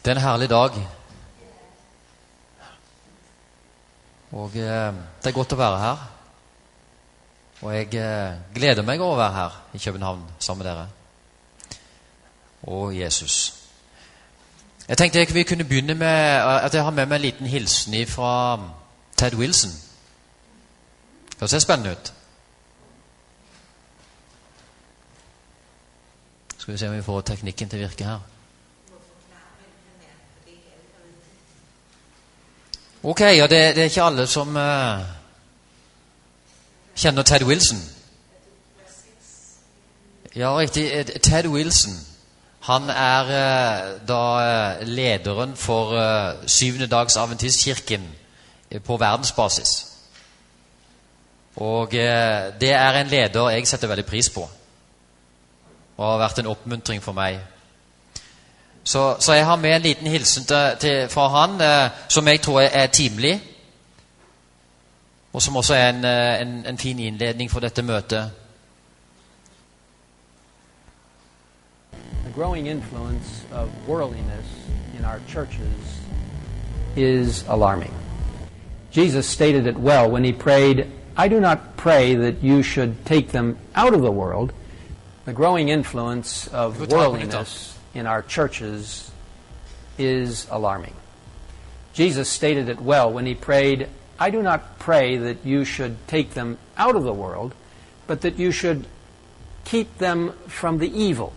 Det er en herlig dag. Og det er godt å være her. Og jeg gleder meg over å være her i København sammen med dere. Og Jesus. Jeg tenkte vi kunne begynne med at jeg har med meg en liten hilsen fra Ted Wilson. Det ser spennende ut. Skal vi se om vi får teknikken til å virke her. Ok, ja, det er ikke alle som kjenner Ted Wilson. Ja, riktig. Ted Wilson, han er da lederen for syvende dags adventistkirken på verdensbasis. Og det er en leder jeg setter veldig pris på. Og har vært en oppmuntring for meg. Så jeg har med en liten hilsen fra han, som jeg tror er timelig, og som også er en fin innledning for dette møtet. The growing influence of worldliness in our churches is alarming. Jesus stated it well when he prayed, "I do not pray that you should take them out of the world." The growing influence of worldliness in our churches is alarming. Jesus stated it well when he prayed, "I do not pray that you should take them out of the world, but that you should keep them from the evil."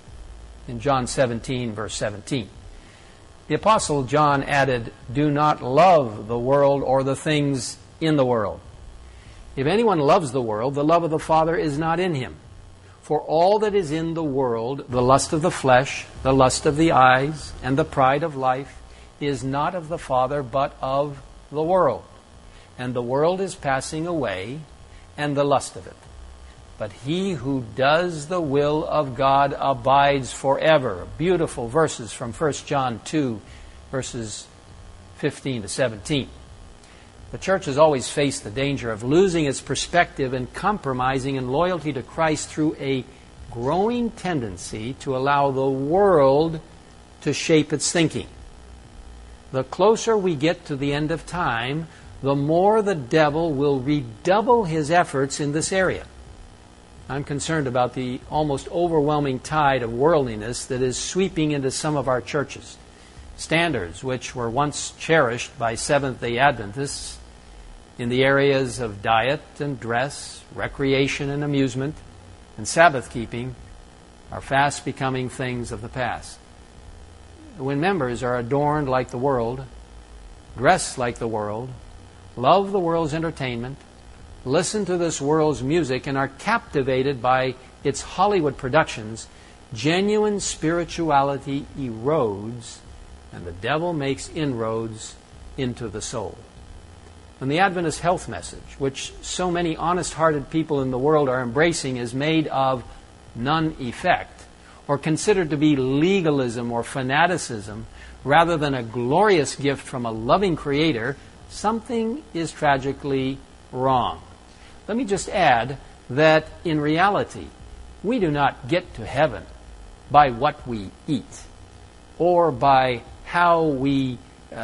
In John 17, verse 17. The Apostle John added, "Do not love the world or the things in the world. If anyone loves the world, the love of the Father is not in him. For all that is in the world, the lust of the flesh, the lust of the eyes, and the pride of life, is not of the Father, but of the world. And the world is passing away, and the lust of it. But he who does the will of God abides forever." Beautiful verses from 1 John 2, verses 15 to 17. The church has always faced the danger of losing its perspective and compromising in loyalty to Christ through a growing tendency to allow the world to shape its thinking. The closer we get to the end of time, the more the devil will redouble his efforts in this area. I'm concerned about the almost overwhelming tide of worldliness that is sweeping into some of our churches. Standards which were once cherished by Seventh-day Adventists in the areas of diet and dress, recreation and amusement, and Sabbath-keeping are fast becoming things of the past. When members are adorned like the world, dress like the world, love the world's entertainment, listen to this world's music, and are captivated by its Hollywood productions, genuine spirituality erodes, and the devil makes inroads into the soul. When the Adventist health message, which so many honest-hearted people in the world are embracing, is made of none effect, or considered to be legalism or fanaticism, rather than a glorious gift from a loving Creator, something is tragically wrong. Let me just add that in reality, we do not get to heaven by what we eat, or by how we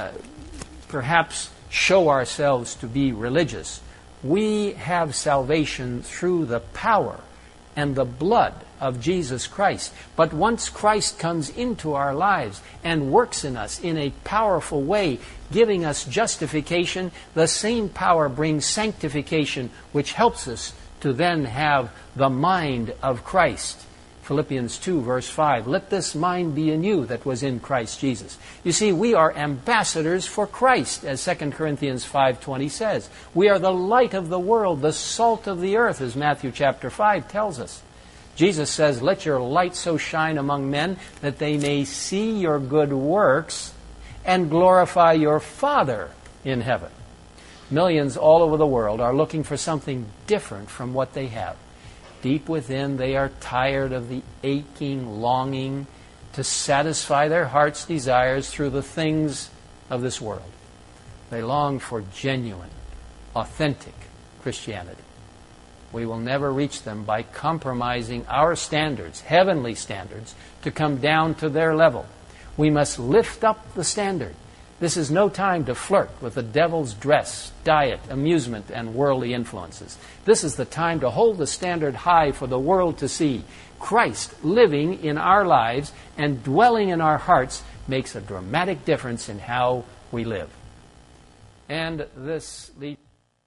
perhaps show ourselves to be religious. We have salvation through the power and the blood of Jesus Christ. But once Christ comes into our lives and works in us in a powerful way, giving us justification, the same power brings sanctification, which helps us to then have the mind of Christ. Philippians 2, verse 5, "Let this mind be in you that was in Christ Jesus." You see, we are ambassadors for Christ, as 2 Corinthians 5:20 says. We are the light of the world, the salt of the earth, as Matthew chapter 5 tells us. Jesus says, "Let your light so shine among men that they may see your good works and glorify your Father in heaven." Millions all over the world are looking for something different from what they have. Deep within, they are tired of the aching longing to satisfy their heart's desires through the things of this world. They long for genuine, authentic Christianity. We will never reach them by compromising our standards, heavenly standards, to come down to their level. We must lift up the standard. This is no time to flirt with the devil's dress, diet, amusement, and worldly influences. This is the time to hold the standard high for the world to see. Christ living in our lives and dwelling in our hearts makes a dramatic difference in how we live. And this leads...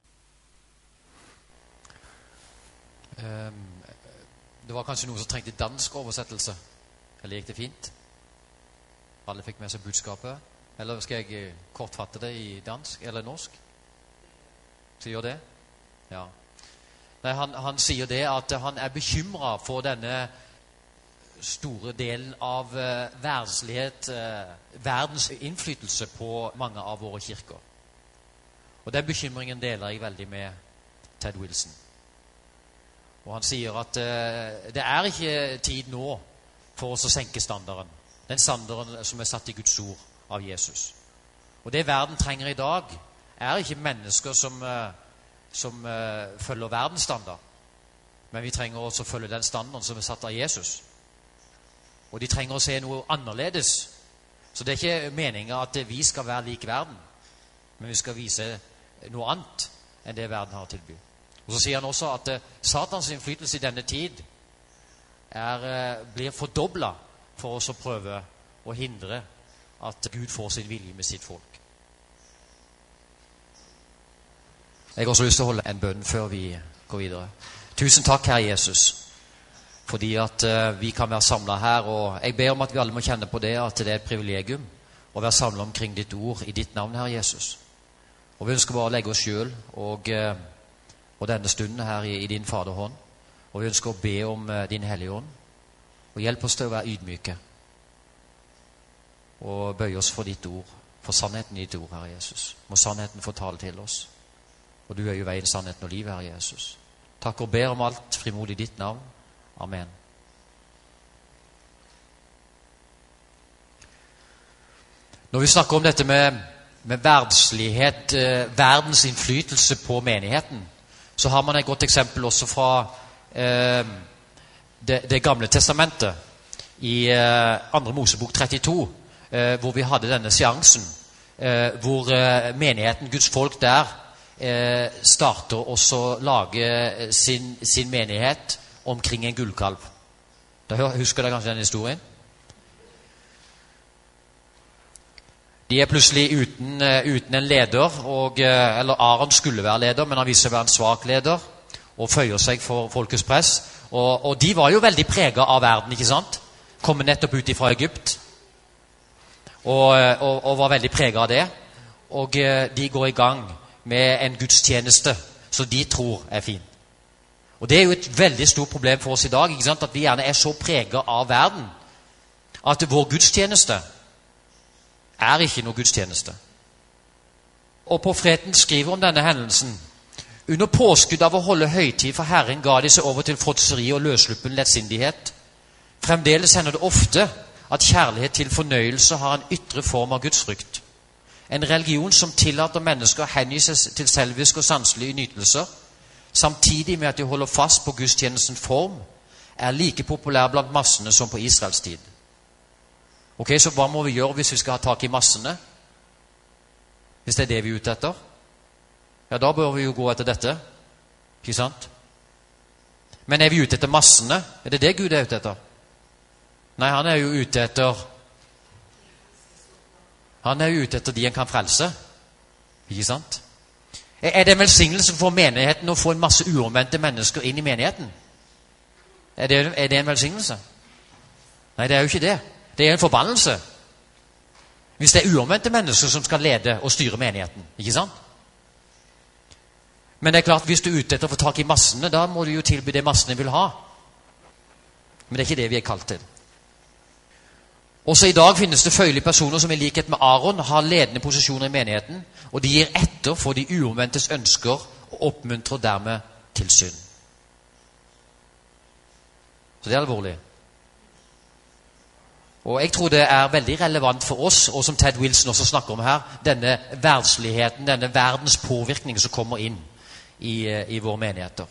Det var kanskje noen som trengte dansk oversettelse. Eller gikk det fint? Alle fikk med seg budskapet. Eller skal jeg kortfatte det i dansk eller norsk? Sier det? Ja. Nei, han sier det at han er bekymret for denne store delen av verdenslighet, verdens innflytelse på mange av våre kirker. Og den bekymringen deler jeg veldig med Ted Wilson. Og han sier at det er ikke tid nå for oss å senke standarden. Den standarden som er satt i Guds ord av Jesus. Og det verden trenger i dag er ikke mennesker som følger verdens standard. Men vi trenger også å følge den standarden som er satt av Jesus. Og de trenger å se noe annerledes. Så det er ikke meningen at vi skal være lik verden. Men vi skal vise noe annet enn det verden har å tilby. Og så sier han også at Satans innflytelse i denne tid blir fordoblet for oss å prøve å hindre at Gud får sin vilje med sitt folk. Jeg har også lyst til å holde en bønn før vi går videre. Tusen takk, Herre Jesus, fordi at vi kan være samlet her, og jeg ber om at vi alle må kjenne på det, at det er et privilegium å være samlet omkring ditt ord i ditt navn, Herre Jesus. Og vi ønsker bare å legge oss selv og denne stunden her i din faderhånd, og vi ønsker å be om din hellige ånd, og hjelp oss til å være ydmyke, og bøye oss for ditt ord, for sannheten i ditt ord, Herre Jesus. Må sannheten få tale til oss, og du er jo veien, sannheten og livet, Herre Jesus. Takk og ber om alt frimodig i ditt navn. Amen. Når vi snakker om dette med verdslighet, verdens innflytelse på menigheten, så har man et godt eksempel også fra det gamle testamentet i 2. Mosebok 32, hvor vi hadde denne seansen, hvor menigheten, Guds folk der, starter også å lage sin menighet omkring en gullkalv. Husker dere kanskje den historien? De er plutselig uten en leder, eller Aaron skulle være leder, men han viser seg å være en svak leder, og føyer seg for folkets press. Og de var jo veldig preget av verden, ikke sant? Kommer nettopp ut fra Egypt, og var veldig preget av det. Og de går i gang med en gudstjeneste som de tror er fin. Og det er jo et veldig stort problem for oss i dag, ikke sant? At vi gjerne er så preget av verden, at vår gudstjeneste er ikke noe gudstjeneste. Og profeten skriver om denne hendelsen: under påskudd av å holde høytid for Herren ga de seg over til fråtseri og løssluppen lettsindighet. Fremdeles hender det ofte at kjærlighet til fornøyelse har en ytre form av gudsfrykt. En religion som tillater mennesker å hengi seg til selviske og sanselige nytelser, samtidig med at de holder fast på gudstjenestens form, er like populær blant massene som på Israels tid. Ok, så hva må vi gjøre hvis vi skal ha tak i massene? Hvis det er det vi er ute etter? Ja, da bør vi jo gå etter dette. Ikke sant? Men er vi ute etter massene? Er det det Gud er ute etter? Nei, han er jo ute etter de han kan frelse. Ikke sant? Er det en velsignelse for menigheten å få en masse uomvendte mennesker inn i menigheten? Er det en velsignelse? Nei, det er jo ikke det. Det er en forbannelse. Hvis det er uomvendte mennesker som skal lede og styre menigheten. Ikke sant? Men det er klart, hvis du er ute etter å få tak i massene, da må du jo tilby det massene vil ha. Men det er ikke det vi er kalt til. Også i dag finnes det føyelige personer som i likhet med Aaron har ledende posisjoner i menigheten, og de gir etter for de uomvendtes ønsker og oppmuntrer dermed til synd. Så det er alvorlig. Og jeg tror det er veldig relevant for oss, og som Ted Wilson også snakker om her, denne verdsligheten, denne verdens påvirkning som kommer inn i våre menigheter.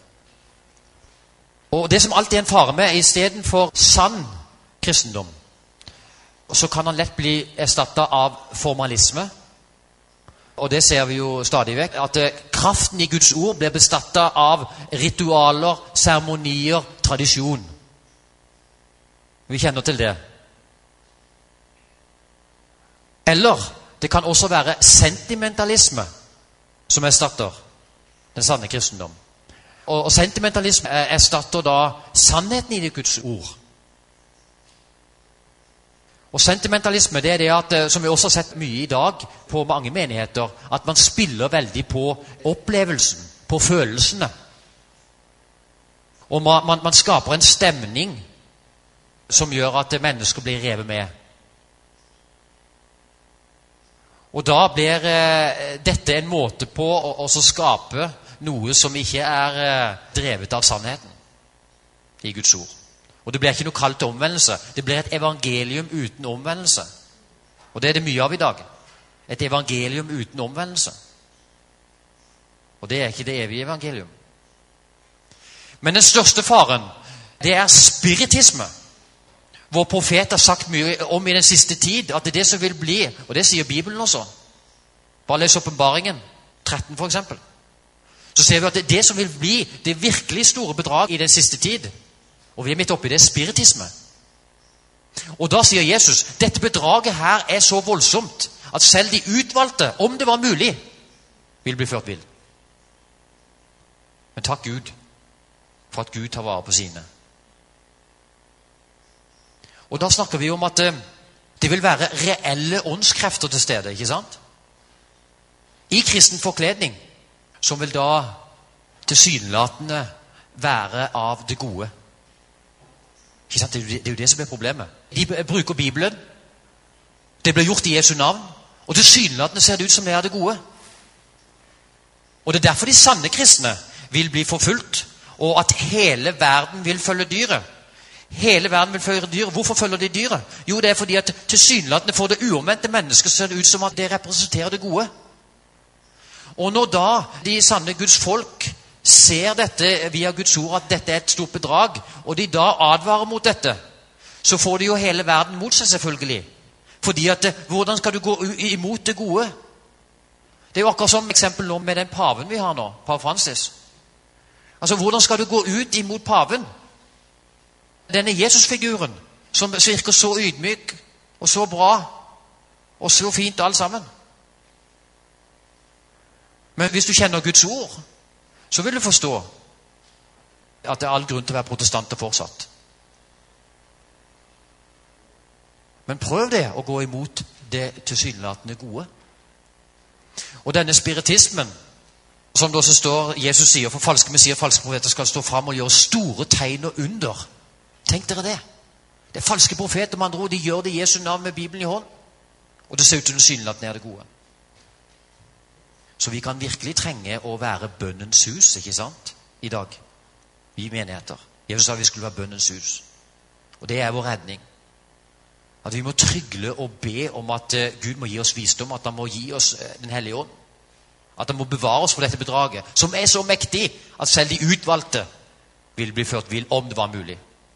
Og det som alltid er en fare med, i stedet for sann kristendom, så kan han lett bli erstattet av formalisme. Og det ser vi jo stadig vekk, at kraften i Guds ord blir bestattet av ritualer, seremonier, tradisjon. Vi kjenner til det. Eller det kan også være sentimentalisme som erstatter den sanne kristendom. Og sentimentalisme erstatter da sannheten i det Guds ord. Og sentimentalisme, det er det at, som vi også har sett mye i dag på mange menigheter, at man spiller veldig på opplevelsen, på følelsene. Og man skaper en stemning som gjør at mennesker blir revet med. Og da blir dette en måte på å skape noe som ikke er drevet av sannheten i Guds ord. Og det blir ikke noe kall til omvendelse. Det blir et evangelium uten omvendelse. Og det er det mye av i dag. Et evangelium uten omvendelse. Og det er ikke det evige evangelium. Men den største faren, det er spiritisme. Vår profet har sagt mye om i den siste tid, at det er det som vil bli, og det sier Bibelen også. Bare les Åpenbaringen 13 for eksempel. Så ser vi at det er det som vil bli det virkelig store bedrag i den siste tid. Og vi er midt oppe i det, spiritisme. Og da sier Jesus, dette bedraget her er så voldsomt, at selv de utvalgte, om det var mulig, vil bli ført vill. Men takk Gud, for at Gud tar vare på sine. Og da snakker vi om at det vil være reelle åndskrefter til stede, ikke sant? I kristen forkledning, som vil da tilsynelatende være av det gode. Ikke sant? Det er jo det som er problemet. De bruker Bibelen, det blir gjort i Jesu navn, og tilsynelatende ser det ut som det er det gode. Og det er derfor de sanne kristne vil bli forfulgt, og at hele verden vil følge dyret. Hele verden vil følge dyret. Hvorfor følger de dyret? Jo, det er fordi at tilsynelatende for det uomvendte mennesket ser det ut som at det representerer det gode. Og når da de sanne Guds folk ser dette via Guds ord, at dette er et stort bedrag, og de da advarer mot dette, så får de jo hele verden mot seg selvfølgelig. Fordi at hvordan skal du gå imot det gode? Det er jo akkurat som eksempel nå med den paven vi har nå, Pave Francis. Altså, hvordan skal du gå ut imot paven? Denne Jesusfiguren, som virker så ydmyk, og så bra, og så fint alt sammen. Men hvis du kjenner Guds ord, så vil du forstå at det er all grunn til å være protestanter fortsatt. Men prøv det å gå imot det tilsynelatende gode. Og denne spiritismen, som det også står, Jesus sier, for falske messier, falske profeter skal stå frem og gjøre store tegn og under. Tenk dere det. Det er falske profeter, med andre ord, de gjør det i Jesu navn med Bibelen i hånd. Og det ser ut til tilsynelatende er det gode. Så vi kan virkelig trenge å være bønnens hus, ikke sant? I dag. Vi menigheter. Jesus sa vi skulle være bønnens hus. Og det er vår redning. At vi må trygle og be om at Gud må gi oss visdom, at han må gi oss den hellige ånd. At han må bevare oss for dette bedraget, som er så mektig at selv de utvalgte vil bli ført vill, om det var mulig.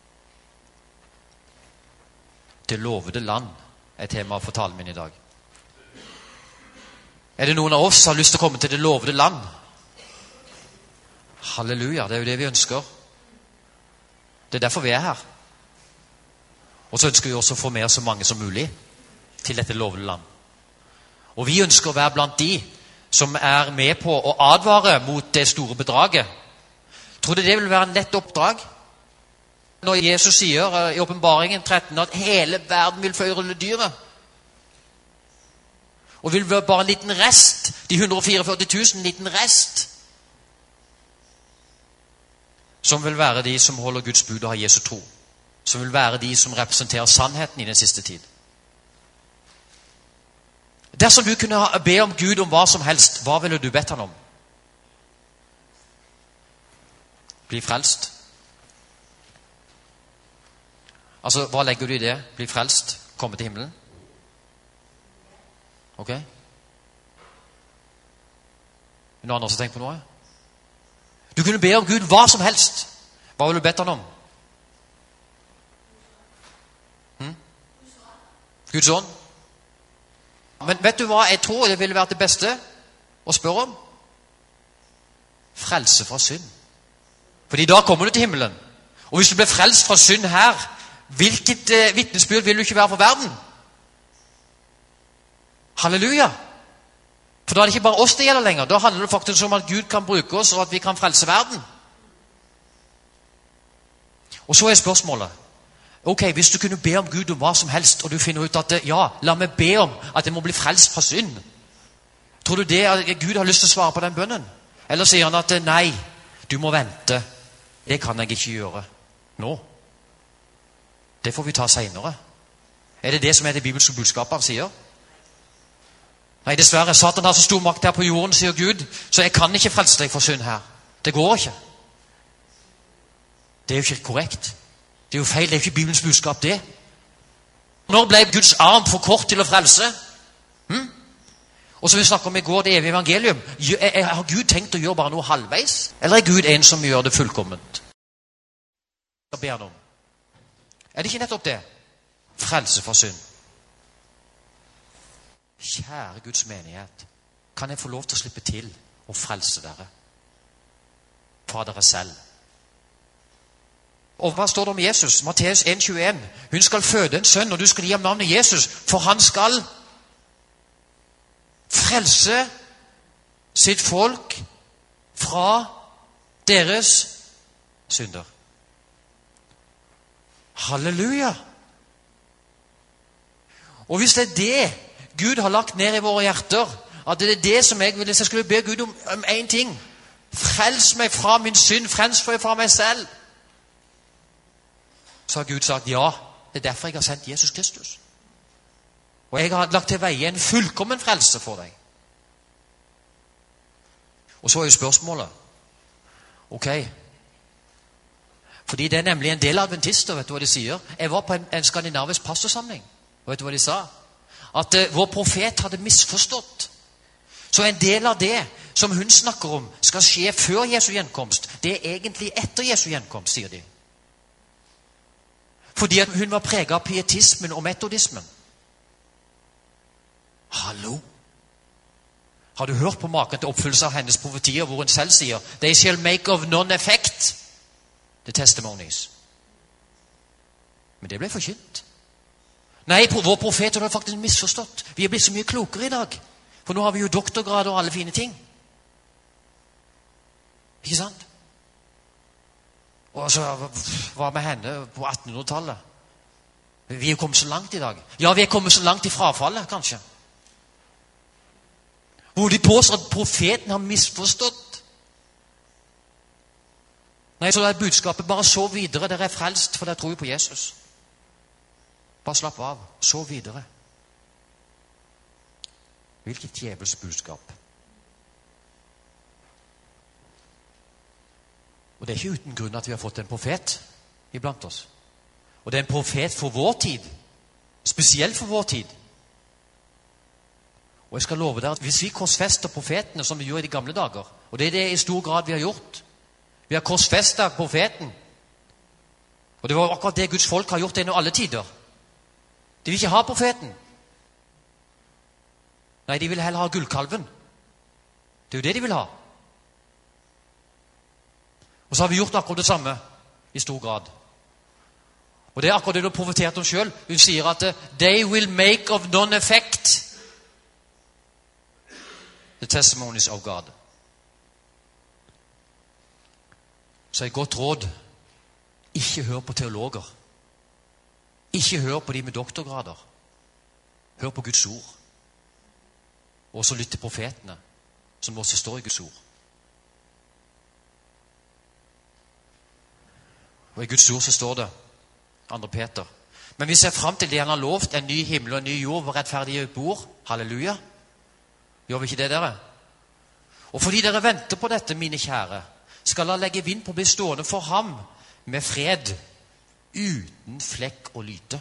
Det lovede land er tema for talen min i dag. Er det noen av oss som har lyst til å komme til det lovede land? Halleluja, det er jo det vi ønsker. Det er derfor vi er her. Og så ønsker vi også å få med oss så mange som mulig til dette lovede land. Og vi ønsker å være blant de som er med på å advare mot det store bedraget. Tror du det vil være en lett oppdrag? Når Jesus sier i Åpenbaringen 13 at hele verden vil følge dyret. Og vil være bare en liten rest, de 144 000, en liten rest, som vil være de som holder Guds bud og har Jesu tro. Som vil være de som representerer sannheten i den siste tid. Dersom du kunne be om Gud om hva som helst, hva ville du bedt han om? Bli frelst. Altså, hva legger du i det? Bli frelst, komme til himmelen? Ok? Noen andre som tenker på noe? Du kunne be om Gud hva som helst. Hva ville du bedt han om? Guds ånd. Men vet du hva jeg tror det ville vært det beste å spørre om? Frelse fra synd. Fordi da kommer du til himmelen. Og hvis du blir frelst fra synd her, hvilket vitnesbyrd vil du ikke være for verden? Halleluja! For da er det ikke bare oss det gjelder lenger. Da handler det faktisk om at Gud kan bruke oss, og at vi kan frelse verden. Og så er spørsmålet, ok, hvis du kunne be om Gud om hva som helst, og du finner ut at ja, la meg be om at jeg må bli frelst fra synd. Tror du det at Gud har lyst til å svare på den bønnen? Eller sier han at nei, du må vente. Det kan jeg ikke gjøre nå. Det får vi ta senere. Er det det som er det bibelske budskapet han sier? Nei, dessverre. Satan har så stor makt her på jorden, sier Gud, så jeg kan ikke frelse deg for synd her. Det går ikke. Det er jo ikke korrekt. Det er jo feil. Det er ikke Bibelens budskap, det. Når ble Guds arm for kort til å frelse? Og som vi snakket om i går, det evige evangelium. Har Gud tenkt å gjøre bare noe halvveis? Eller er Gud en som gjør det fullkomment? Hva ber han om? Er det ikke nettopp det? Frelse fra synd. Kjære Guds menighet, kan jeg få lov til å slippe til og frelse dere fra dere selv? Og hva står det om Jesus? Matteus 1,21. Hun skal føde en sønn, og du skal gi ham navnet Jesus, for han skal frelse sitt folk fra deres synder. Halleluja! Og hvis det er det Gud har lagt ned i våre hjerter, at det er det som jeg ville, hvis jeg skulle be Gud om en ting, frels meg fra min synd, frels meg fra meg selv, så har Gud sagt ja, det er derfor jeg har sendt Jesus Kristus. Og jeg har lagt til veie en fullkommen frelse for deg. Og så er jo spørsmålet, ok, fordi det er nemlig en del adventister, vet du hva de sier? Jeg var på en skandinavisk pastorsamling, og vet du hva de sa? At vår profet hadde misforstått. Så en del av det som hun snakker om skal skje før Jesu gjenkomst, det er egentlig etter Jesu gjenkomst, sier de. Fordi at hun var preget av pietismen og metodismen. Hallo? Har du hørt på maken til oppfyllelse av hennes profetier, hvor hun selv sier «They shall make of non-effect the testimonies». Men det ble forkynt. Nei, vår profet har faktisk misforstått. Vi er blitt så mye klokere i dag. For nå har vi jo doktorgrad og alle fine ting. Ikke sant? Og så, hva med henne på 1800-tallet? Vi er kommet så langt i dag. Ja, vi er kommet så langt i frafallet, kanskje. Hvor de påstår at profeten har misforstått. Nei, så er budskapet bare så videre. Dere er frelst, for dere tror på Jesus. Bare slapp av. Så videre. Hvilket djevels budskap. Og det er ikke uten grunn at vi har fått en profet iblant oss. Og det er en profet for vår tid. Spesielt for vår tid. Og jeg skal love deg at hvis vi korsfester profetene som vi gjorde i de gamle dager, og det er det i stor grad vi har gjort, vi har korsfestet profeten, og det var akkurat det Guds folk har gjort gjennom alle tider. De vil ikke ha profeten. Nei, de vil heller ha gullkalven. Det er jo det de vil ha. Og så har vi gjort akkurat det samme i stor grad. Og det er akkurat det du har profetert om selv. Hun sier at «They will make of non-effect the testimonies of God». Så et godt råd, ikke hør på teologer. Ikke hør på de med doktorgrader. Hør på Guds ord. Og så lytt til profetene, som også står i Guds ord. Og i Guds ord så står det, 2. Peter, men vi ser frem til det han har lovt, en ny himmel og en ny jord, hvor rettferdige bor. Halleluja. Gjør vi ikke det, dere? Og fordi dere venter på dette, mine kjære, skal han legge vind på å bli stående for ham med fred, uten flekk og lyte.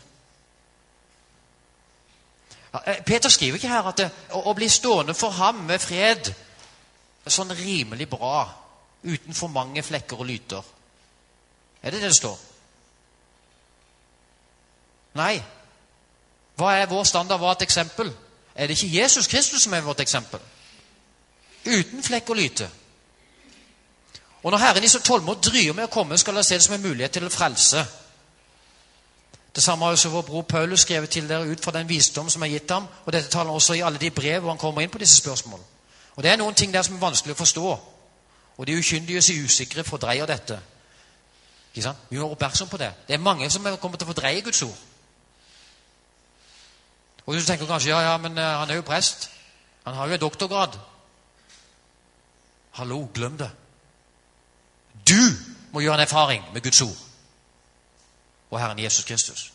Peter skriver ikke her at å bli stående for ham med fred er sånn rimelig bra, uten for mange flekker og lyter. Er det det står? Nei. Hva er vår standard? Hva er et eksempel? Er det ikke Jesus Kristus som er vårt eksempel? Uten flekk og lyte. Og når Herren i så tålmod dryer med å komme, skal dere se det som en mulighet til å frelse. Det samme har også vår bror Paulus skrevet til dere ut fra den visdom som er gitt ham, og dette taler han også i alle de brev hvor han kommer inn på disse spørsmålene. Og det er noen ting der som er vanskelig å forstå, og de ukyndige og usikre fordreier dette. Ikke sant? Vi må være oppmerksom på det. Det er mange som kommer til å fordreie Guds ord. Og du tenker kanskje, ja, men han er jo prest. Han har jo en doktorgrad. Hallo, glem det. Du må gjøre en erfaring med Guds ord og Herren Jesus Kristus.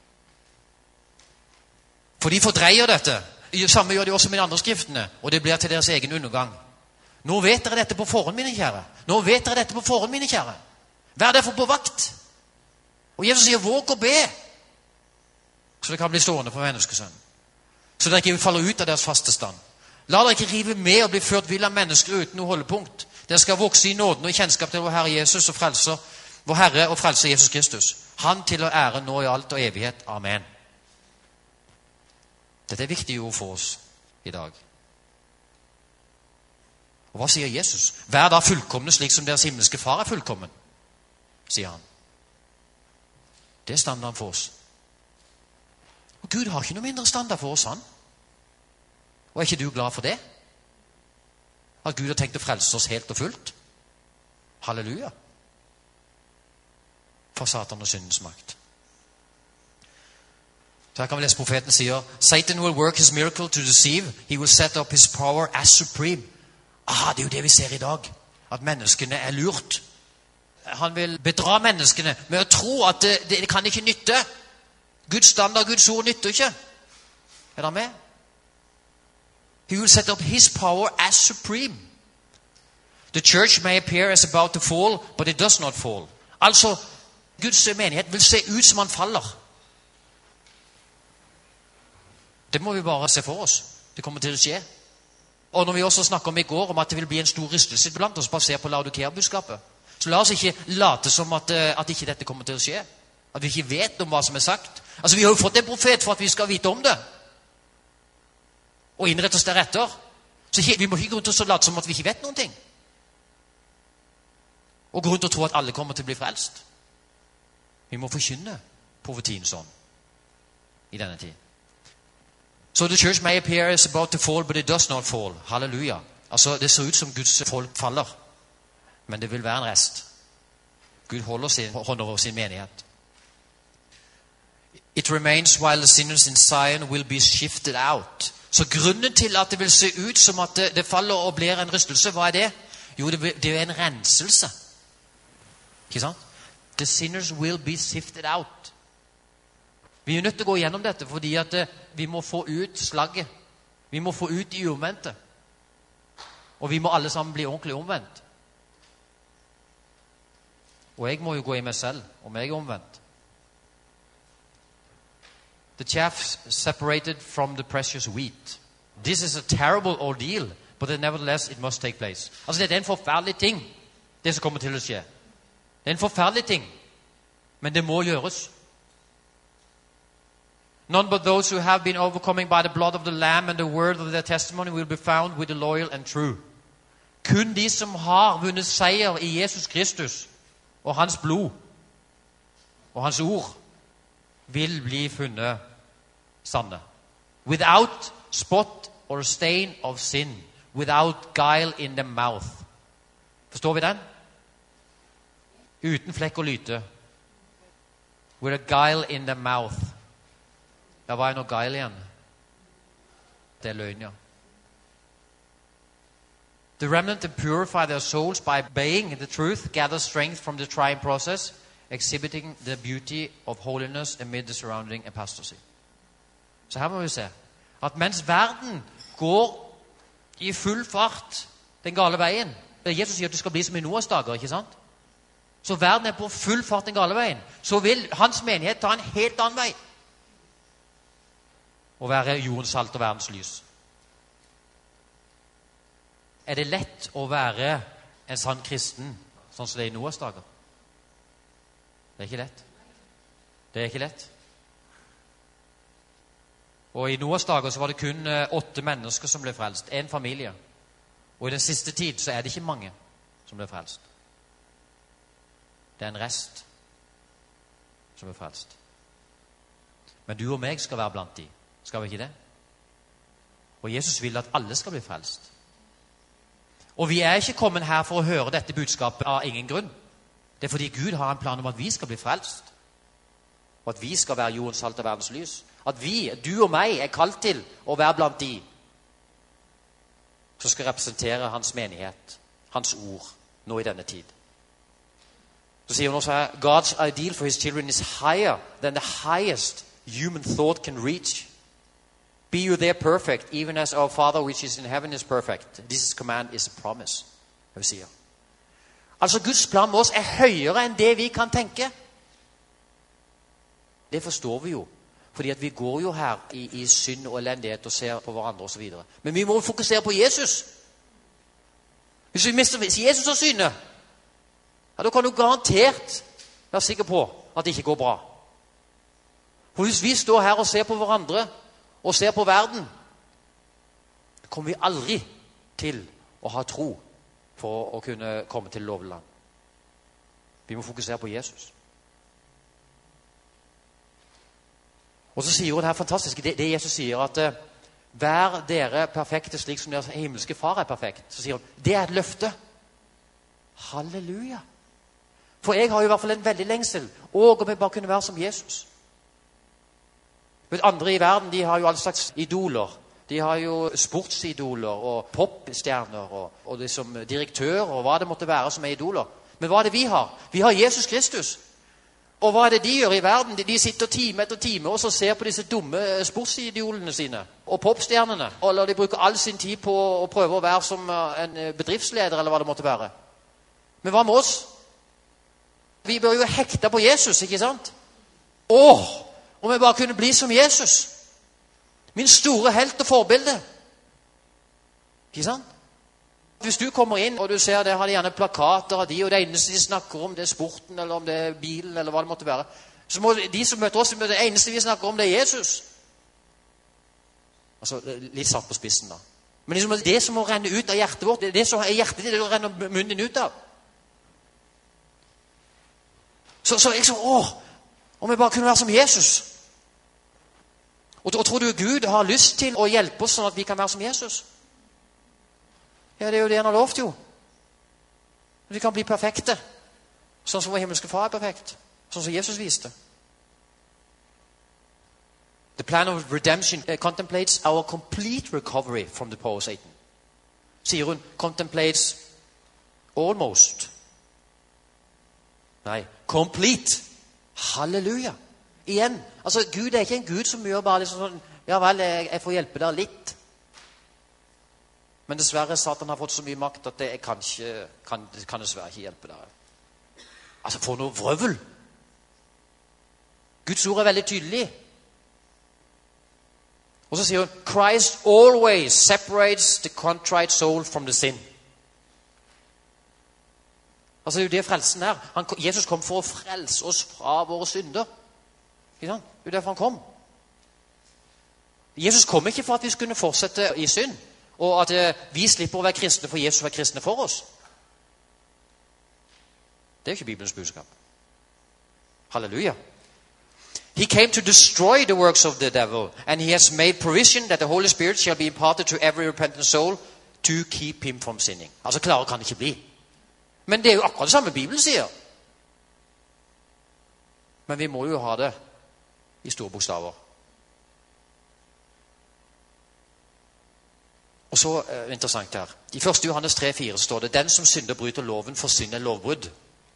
For de fordreier dette. Samme gjør de også med de andre skriftene, og det blir til deres egen undergang. Nå vet dere dette på forhånd, mine kjære. Nå vet dere dette på forhånd, mine kjære. Vær derfor på vakt. Og Jesus sier, våg og be, så det kan bli stående for menneskesønnen. Så dere ikke faller ut av deres faste stand. La dere ikke rive med og bli ført vill av mennesker uten noe holdepunkt. Dere skal vokse i nåden og i kjennskap til vår Herre Jesus og frelser, vår Herre og frelser Jesus Kristus. Han til å ære nå i alt og evighet. Amen. Dette er viktige ord for oss i dag. Og hva sier Jesus? Vær da fullkomne slik som deres himmelske far er fullkommen, sier han. Det er standarden for oss. Og Gud har ikke noe mindre standard for oss, han. Og er ikke du glad for det? At Gud har tenkt å frelse oss helt og fullt? Halleluja. For Satan og syndens makt. Så her kan vi lese profeten sier, Satan will work his miracle to deceive. He will set up his power as supreme. Aha, det er jo det vi ser i dag. At menneskene er lurt. Han vil bedra menneskene med å tro at det kan ikke nytte. Guds standard, Guds ord nytter ikke. Er dere med? He will set up his power as supreme. The church may appear as about to fall, but it does not fall. Altså, Guds menighet vil se ut som han faller. Det må vi bare se for oss. Det kommer til å skje. Og når vi også snakker om i går, om at det vil bli en stor rystelse blant oss basert på Laodikea-budskapet, så la oss ikke late som at ikke dette kommer til å skje. At vi ikke vet om hva som er sagt. Altså, vi har jo fått en profet for at vi skal vite om det. Og innrette oss deretter. Så vi må ikke gå rundt og late som at vi ikke vet noen ting. Og gå rundt og tro at alle kommer til å bli frelst. Vi må forkynne profetien sånn i denne tid. So the church may appear as about to fall, but it does not fall. Halleluja. Altså, det ser ut som Guds folk faller. Men det vil være en rest. Gud holder sin hånd over sin menighet. It remains while the sinners in Zion will be shifted out. Så grunnen til at det vil se ut som at det faller og blir en rystelse, hva er det? Jo, det er en renselse. Ikke sant? The sinners will be sifted out. Vi er nødt til å gå gjennom dette, fordi at vi må få ut slagget. Vi må få ut de omvendte. Og vi må alle sammen bli ordentlig omvendt. Og jeg må jo gå i meg selv, om jeg er omvendt. The chaff separated from the precious wheat. This is a terrible ordeal, but nevertheless it must take place. Altså, det er en forferdelig ting, det som kommer til å skje. Det er en forferdelig ting, men det må gjøres. None but those who have been overcoming by the blood of the Lamb and the word of their testimony will be found with the loyal and true. Kun de som har vunnet seier i Jesus Kristus og hans blod og hans ord vil bli funnet sanne. Without spot or stain of sin, without guile in the mouth. Forstår vi den? Uten flekk og lyte. With a guile in the mouth. Ja, hva er noe guile igjen? Det er løgn, ja. The remnant purify their souls by obeying the truth, gather strength from the trying process, exhibiting the beauty of holiness amid the surrounding apostasy. Så her må vi se at mens verden går i full fart den gale veien, Jesus sier at du skal bli som i Noas dager, ikke sant? Så verden er på full fart den gale veien, så vil hans menighet ta en helt annen vei og være jordens salt og verdens lys. Er det lett å være en sann kristen sånn som det er i Noas dager? Det er ikke lett. Det er ikke lett. Og i Noas dager så var det kun 8 mennesker som ble frelst. En familie. Og i den siste tid så er det ikke mange som ble frelst. Det er en rest som ble frelst. Men du og meg skal være blant de. Skal vi ikke det? Og Jesus vil at alle skal bli frelst. Og vi er ikke kommet her for å høre dette budskapet av ingen grunn. Det er fordi Gud har en plan om at vi skal bli frelst. Og at vi skal være jordens salt og verdens lys. At vi, du og meg, er kalt til å være blant de som skal representere hans menighet, hans ord, nå i denne tid. Så sier hun også her, God's ideal for his children is higher than the highest human thought can reach. Be you there perfect, even as our Father which is in heaven is perfect. This command is a promise. Jeg sier. Altså Guds plan med oss er høyere enn det vi kan tenke. Det forstår vi jo. Fordi at vi går jo her i synd og elendighet og ser på hverandre og så videre. Men vi må fokusere på Jesus. Hvis vi mister Jesus av syne, ja, da kan du garantert være sikker på at det ikke går bra. For hvis vi står her og ser på hverandre og ser på verden, kommer vi aldri til å ha tro for å kunne komme til lovland. Vi må fokusere på Jesus. Og så sier hun det her fantastiske, det Jesus sier at vær dere perfekte slik som deres himmelske far er perfekt. Så sier hun, det er et løfte. Halleluja. For jeg har jo i hvert fall en veldig lengsel. Og om jeg bare kunne være som Jesus. Andre i verden, de har jo alle slags idoler. De har jo sportsidoler og popstjerner og liksom direktører og hva det måtte være som er idoler. Men hva er det vi har? Vi har Jesus Kristus. Og hva er det de gjør i verden? De sitter time etter time og så ser på disse dumme sportsidolene sine og popstjernene. Eller de bruker all sin tid på å prøve å være som en bedriftsleder eller hva det måtte være. Men hva med oss? Vi bør jo hekte på Jesus, ikke sant? Om jeg bare kunne bli som Jesus. Min store helt og forbilde. Ikke sant? Hvis du kommer inn og du ser det, har de gjerne plakater av de, og det eneste de snakker om, det er sporten, eller om det er bilen, eller hva det måtte være. Så må de som møter oss, det eneste vi snakker om, det er Jesus. Altså, litt satt på spissen da. Men liksom, det som må renne ut av hjertet vårt, det som er hjertet ditt, det renner munnen din ut av. Så liksom, om jeg bare kunne være som Jesus. Og tror du Gud har lyst til å hjelpe oss sånn at vi kan være som Jesus? Ja, det er jo det han har lovt jo. Vi kan bli perfekte. Sånn som vår himmelske far er perfekt. Sånn som Jesus viste. The plan of redemption contemplates our complete recovery from the power of Satan. Sier hun, contemplates almost. Nei, complete. Halleluja. Igjen, altså Gud er ikke en Gud som gjør bare liksom sånn, ja vel, jeg får hjelpe deg litt. Men dessverre, Satan har fått så mye makt at det kan dessverre ikke hjelpe deg. Altså, for noe vrøvel! Guds ord er veldig tydelig. Og så sier hun, Christ always separates the contrite soul from the sin. Altså, det er jo det frelsen er. Jesus kom for å frelse oss fra våre synder. Ikke sant? Det er jo derfor han kom. Jesus kom ikke for at vi skulle fortsette i synd. Og at vi slipper å være kristne for Jesus å være kristne for oss. Det er jo ikke Bibelens budskap. Halleluja. He came to destroy the works of the devil, and he has made provision that the Holy Spirit shall be imparted to every repentant soul to keep him from sinning. Altså, klare kan det ikke bli. Men det er jo akkurat det samme Bibelen sier. Men vi må jo ha det i store bokstaver. Og så interessant her. I 1. Johannes 3,4 står det, den som synder bryter loven, for synd er lovbrudd.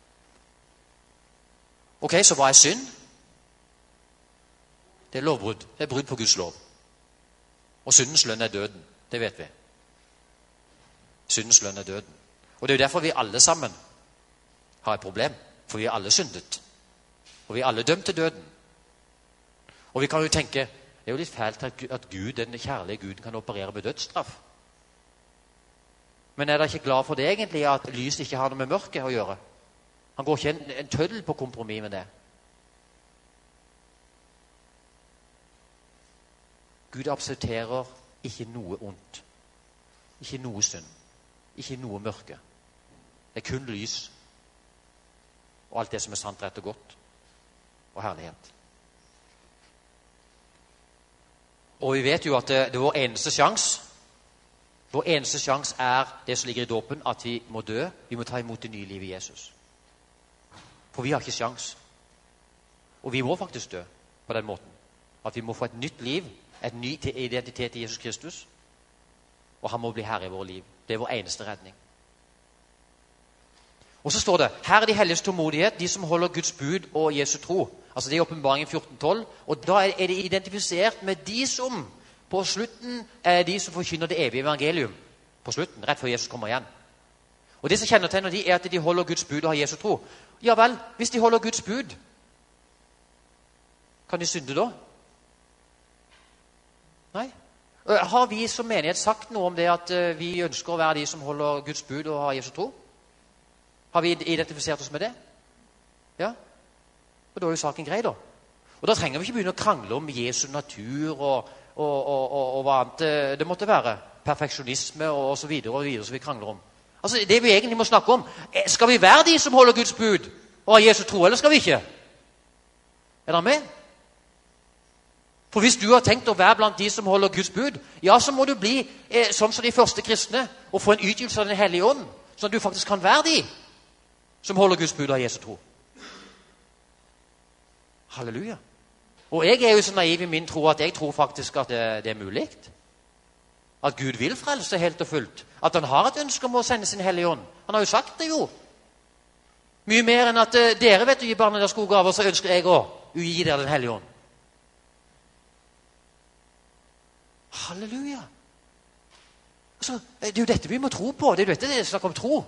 Ok, så hva er synd? Det er lovbrudd. Det er brudd på Guds lov. Og syndens lønn er døden. Det vet vi. Syndens lønn er døden. Og det er jo derfor vi alle sammen har et problem. For vi er alle syndet. Og vi er alle dømt til døden. Og vi kan jo tenke, det er jo litt fælt at Gud, den kjærlige Guden, kan operere med dødsstraff. Men er dere ikke glad for det egentlig, at lys ikke har noe med mørket å gjøre? Han går ikke en tøddel på kompromis med det. Gud aksepterer ikke noe ondt. Ikke noe synd. Ikke noe mørke. Det er kun lys. Og alt det som er sant, rett og godt. Og herlighet. Og vi vet jo at det er vår eneste sjans. Vår eneste sjans er det som ligger i dåpen, at vi må dø. Vi må ta imot det nye livet i Jesus. For vi har ikke sjans. Og vi må faktisk dø på den måten. At vi må få et nytt liv, en ny identitet i Jesus Kristus. Og han må bli herre i vårt liv. Det er vår eneste redning. Og så står det, her er de helliges tålmodighet, de som holder Guds bud og Jesu tro. Altså det er åpenbaringen 14:12. Og da er det identifisert med de som på slutten er de som forkynner det evige evangelium. På slutten, rett før Jesus kommer igjen. Og det som kjennetegner de er at de holder Guds bud og har Jesu tro. Ja vel, hvis de holder Guds bud, kan de synde da? Nei. Har vi som menighet sagt noe om det at vi ønsker å være de som holder Guds bud og har Jesu tro? Har vi identifisert oss med det? Ja. Og da er jo saken grei da. Og da trenger vi ikke begynne å krangle om Jesu natur og hva annet det måtte være. Perfeksjonisme og så videre som vi krangler om. Altså det vi egentlig må snakke om, skal vi være de som holder Guds bud og har Jesu tro, eller skal vi ikke? Er dere med? For hvis du har tenkt å være blant de som holder Guds bud, ja, så må du bli sånn som de første kristne og få en utgytelse av den hellige ånd, sånn at du faktisk kan være de som holder Guds bud og har Jesu tro. Halleluja. Og jeg er jo så naiv i min tro at jeg tror faktisk at det er mulig. At Gud vil frelse helt og fullt. At han har et ønske om å sende sin hellige ånd. Han har jo sagt det jo. Mye mer enn at dere vet å gi barna deres gode gaver, så ønsker jeg å gi dere den hellige ånd. Halleluja. Altså, det er jo dette vi må tro på. Det er jo dette det er snakk om tro.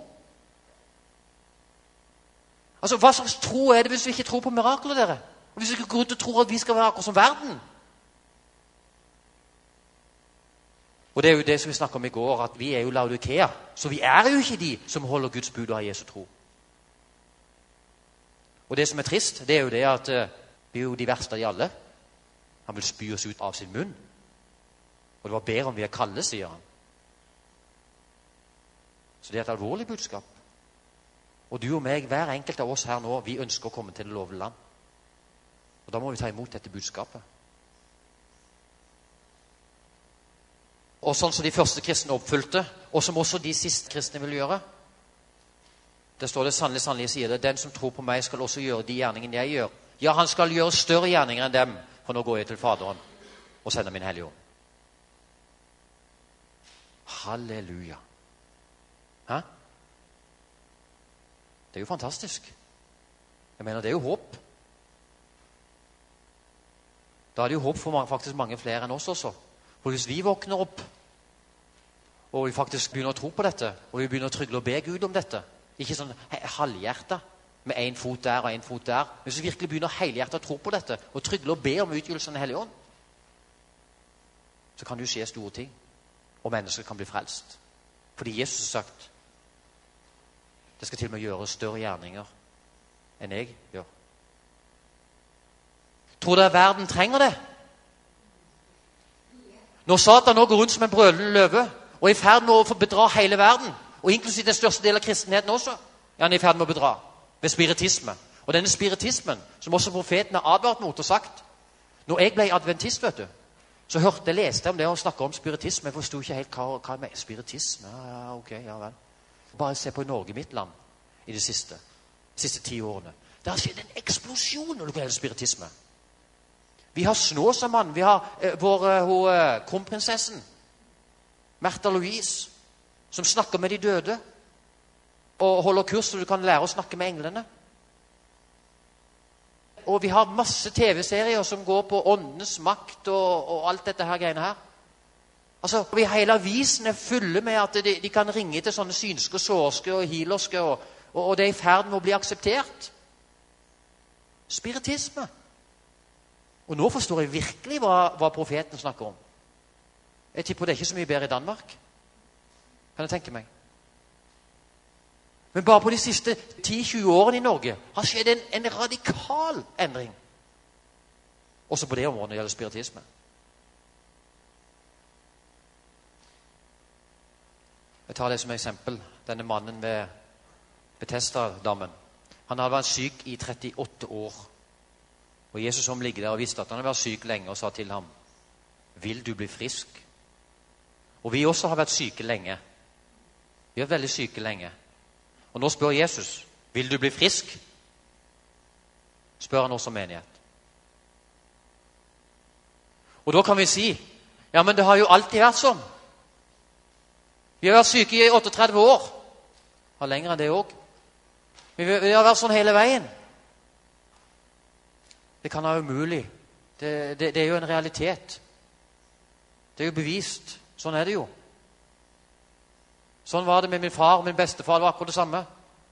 Altså, hva slags tro er det hvis vi ikke tror på mirakler, dere? Og hvis vi ikke går ut og tror at vi skal være akkurat som verden? Og det er jo det som vi snakket om i går, at vi er jo Laodikea. Så vi er jo ikke de som holder Guds bud og har Jesu tro. Og det som er trist, det er jo det at vi er jo de verste av de alle. Han vil spy oss ut av sin munn. Og det var bedre om vi er kalde, sier han. Så det er et alvorlig budskap. Og du og meg, hver enkelt av oss her nå, vi ønsker å komme til det lovede land. Og da må vi ta imot dette budskapet. Og sånn som de første kristne oppfylte, og som også de siste kristne vil gjøre. Det står det sannelig, sannelig sier det, den som tror på meg skal også gjøre de gjerningene jeg gjør. Ja, han skal gjøre større gjerninger enn dem, for nå går jeg til Faderen og sender min hellige ånd. Halleluja. Hæ? Det er jo fantastisk. Jeg mener, det er jo håp. Da er det jo håp for faktisk mange flere enn oss også. For hvis vi våkner opp, og vi faktisk begynner å tro på dette, og vi begynner å trygle og be Gud om dette, ikke sånn halvhjertet, med en fot der og en fot der, men hvis vi virkelig begynner helhjertet å tro på dette, og trygle og be om utgytelsen av Hellige Ånd, så kan det jo skje store ting, og mennesker kan bli frelst. Fordi Jesus har sagt, det skal til og med gjøre større gjerninger enn jeg gjør. Tror dere verden trenger det? Når Satan nå går rundt som en brølende løve, og er i ferd med å bedra hele verden, og inklusiv den største del av kristenheten også, er han i ferd med å bedra ved spiritisme. Og denne spiritismen, som også profeten har advart mot og sagt, når jeg ble adventist, vet du, så leste jeg om det og snakket om spiritisme. Jeg forstod ikke helt hva med spiritisme. Ja, ok, ja vel. Bare se på Norge, mitt land, i de siste 10 årene. Det har skjedd en eksplosjon når det gjelder spiritisme. Vi har Snåsamann, vi har kronprinsessen, Märtha Louise, som snakker med de døde, og holder kurs så du kan lære å snakke med englene. Og vi har masse TV-serier som går på åndenes makt og alt dette her greiene her. Altså, vi hele avisen er fulle med at de kan ringe til sånne synske, sårske og healerske, og det er i ferd med å bli akseptert. Spiritisme. Og nå forstår jeg virkelig hva profeten snakker om. Jeg tipper det er ikke så mye bedre i Danmark. Kan jeg tenke meg. Men bare på de siste 10-20 årene i Norge har skjedd en radikal endring. Også på det området når det gjelder spiritisme. Jeg tar det som eksempel. Denne mannen ved Betesda-dammen. Han hadde vært syk i 38 år. Og Jesus som ligger der og visste at han hadde vært syk lenge og sa til ham, vil du bli frisk? Og vi også har vært syke lenge. Vi er veldig syke lenge. Og nå spør Jesus, vil du bli frisk? Spør han også menighet. Og da kan vi si, ja, men det har jo alltid vært sånn. Vi har vært syke i 38 år. Har lenger enn det også. Vi har vært sånn hele veien. Det kan være umulig. Det er jo en realitet. Det er jo bevist. Sånn er det jo. Sånn var det med min far og min bestefar. Det var akkurat det samme.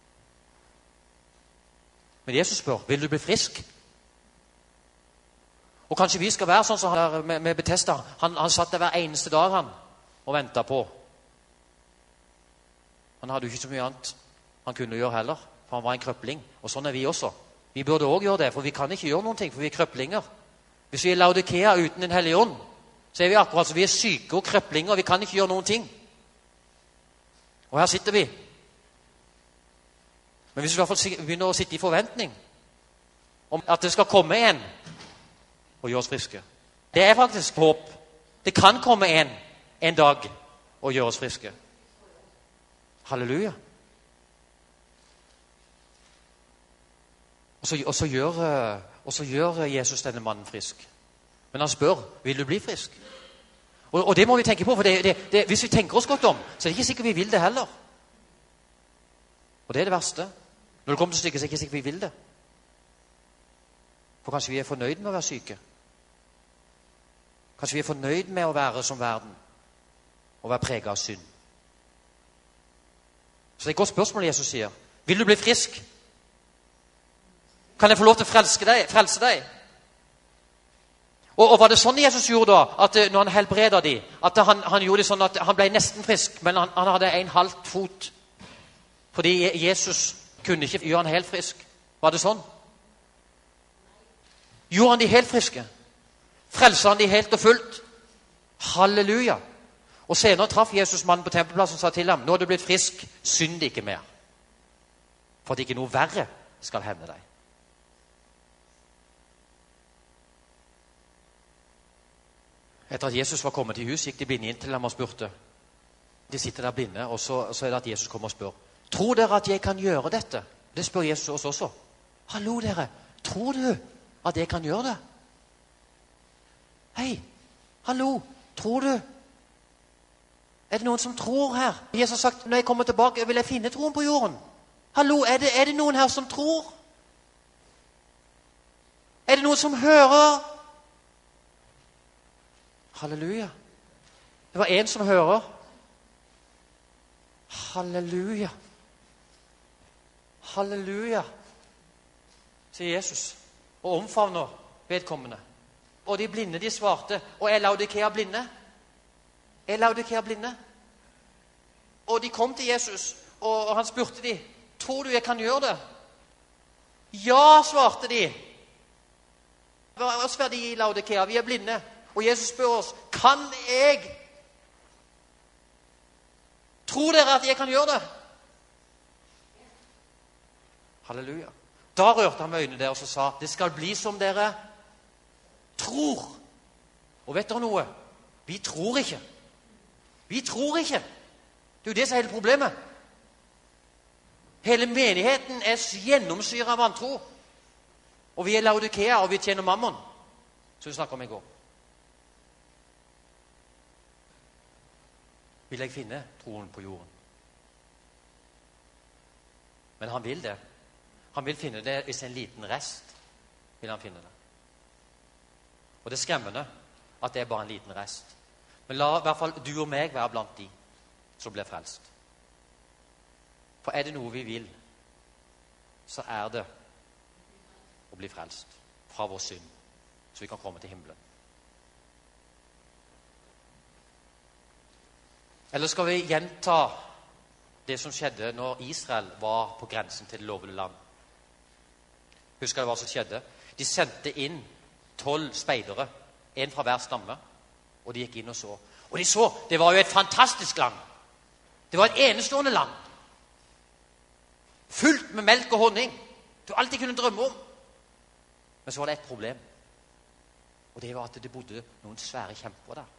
Men Jesus spør, vil du bli frisk? Og kanskje vi skal være sånn som han der med Betesda. Han satt der hver eneste dag han og ventet på. Han hadde jo ikke så mye annet han kunne gjøre heller, for han var en krøpling. Og sånn er vi også. Vi burde også gjøre det, for vi kan ikke gjøre noen ting, for vi er krøplinger. Hvis vi er Laodikea uten en hellig ånd, så er vi akkurat som vi er syke og krøplinger, og vi kan ikke gjøre noen ting. Og her sitter vi. Men hvis vi i hvert fall begynner å sitte i forventning om at det skal komme en og gjøre oss friske. Det er faktisk håp. Det kan komme en dag og gjøre oss friske. Halleluja. Og så gjør Jesus denne mannen frisk. Men han spør, vil du bli frisk? Og det må vi tenke på, for hvis vi tenker oss godt om, så er det ikke sikkert vi vil det heller. Og det er det verste. Når det kommer til stykket, så er det ikke sikkert vi vil det. For kanskje vi er fornøyd med å være syke. Kanskje vi er fornøyd med å være som verden, og være preget av synd. Så det er et godt spørsmål Jesus sier. Vil du bli frisk? Kan jeg få lov til å frelse deg? Og var det sånn Jesus gjorde da, at når han helbreder dem, at han gjorde det sånn at han ble nesten frisk, men han hadde en halv fot, fordi Jesus kunne ikke gjøre han helt frisk? Var det sånn? Gjorde han de helt friske? Frelser han de helt og fullt? Halleluja! Og senere traff Jesus mannen på tempelplassen og sa til ham, nå er du blitt frisk, synd ikke mer, for at ikke noe verre skal hende deg. Etter at Jesus var kommet til hus, gikk de blinde inn til ham og spurte. De sitter der blinde, og så er det at Jesus kommer og spør. Tror dere at jeg kan gjøre dette? Det spør Jesus oss også. Hallo dere, tror du at jeg kan gjøre det? Hei, hallo, tror du? Er det noen som tror her? Jesus har sagt, når jeg kommer tilbake, vil jeg finne troen på jorden. Hallo, er det noen her som tror? Er det noen som hører? Halleluja. Det var en som hører. Halleluja. Halleluja, sier Jesus, og omfavner vedkommende. Og de blinde, de svarte, og er Laodikea blinde? Er Laodikea blinde? Og de kom til Jesus, og han spurte de, tror du jeg kan gjøre det? Ja, svarte de. Hva sver de i Laodikea? Vi er blinde. Og Jesus spør oss, kan jeg? Tror dere at jeg kan gjøre det? Halleluja. Da rørte han med øynene der og så sa, det skal bli som dere tror. Og vet dere noe? Vi tror ikke. Vi tror ikke. Det er jo det som er hele problemet. Hele menigheten er gjennomsyret av vantro. Og vi er Laodikea, og vi tjener mammon. Så vi snakker om i går. Vil jeg finne troen på jorden? Men han vil det. Han vil finne det hvis en liten rest vil han finne det. Og det er skremmende at det er bare en liten rest. Men la i hvert fall du og meg være blant de som blir frelst. For er det noe vi vil, så er det å bli frelst fra vår synd, så vi kan komme til himmelen. Eller skal vi gjenta det som skjedde når Israel var på grensen til det lovede land? Husker dere hva som skjedde? De sendte inn 12 speidere, en fra hver stamme, og de gikk inn og så. Og de så, det var jo et fantastisk land. Det var et enestående land. Fullt med melk og honning. Du alltid kunne drømme om. Men så var det et problem. Og det var at det bodde noen svære kjemper der.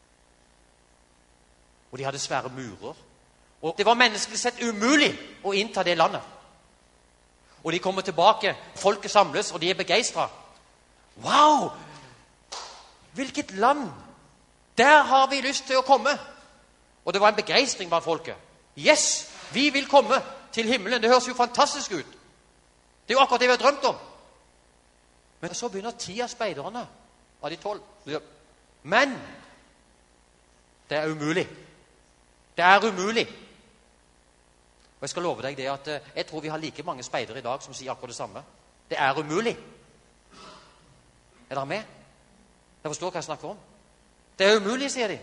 Og de hadde svære murer. Og det var menneskelig sett umulig å innta det landet. Og de kommer tilbake, folket samles, og de er begeistret. Wow! Hvilket land! Der har vi lyst til å komme. Og det var en begeistring blant folket. Yes, vi vil komme til himmelen. Det høres jo fantastisk ut. Det er jo akkurat det vi har drømt om. Men så begynner 10 av speiderne av de 12. Men det er umulig. Det er umulig. Og jeg skal love deg det at jeg tror vi har like mange speidere i dag som sier akkurat det samme. Det er umulig. Er dere med? Dere forstår hva jeg snakker om? Det er umulig, sier de.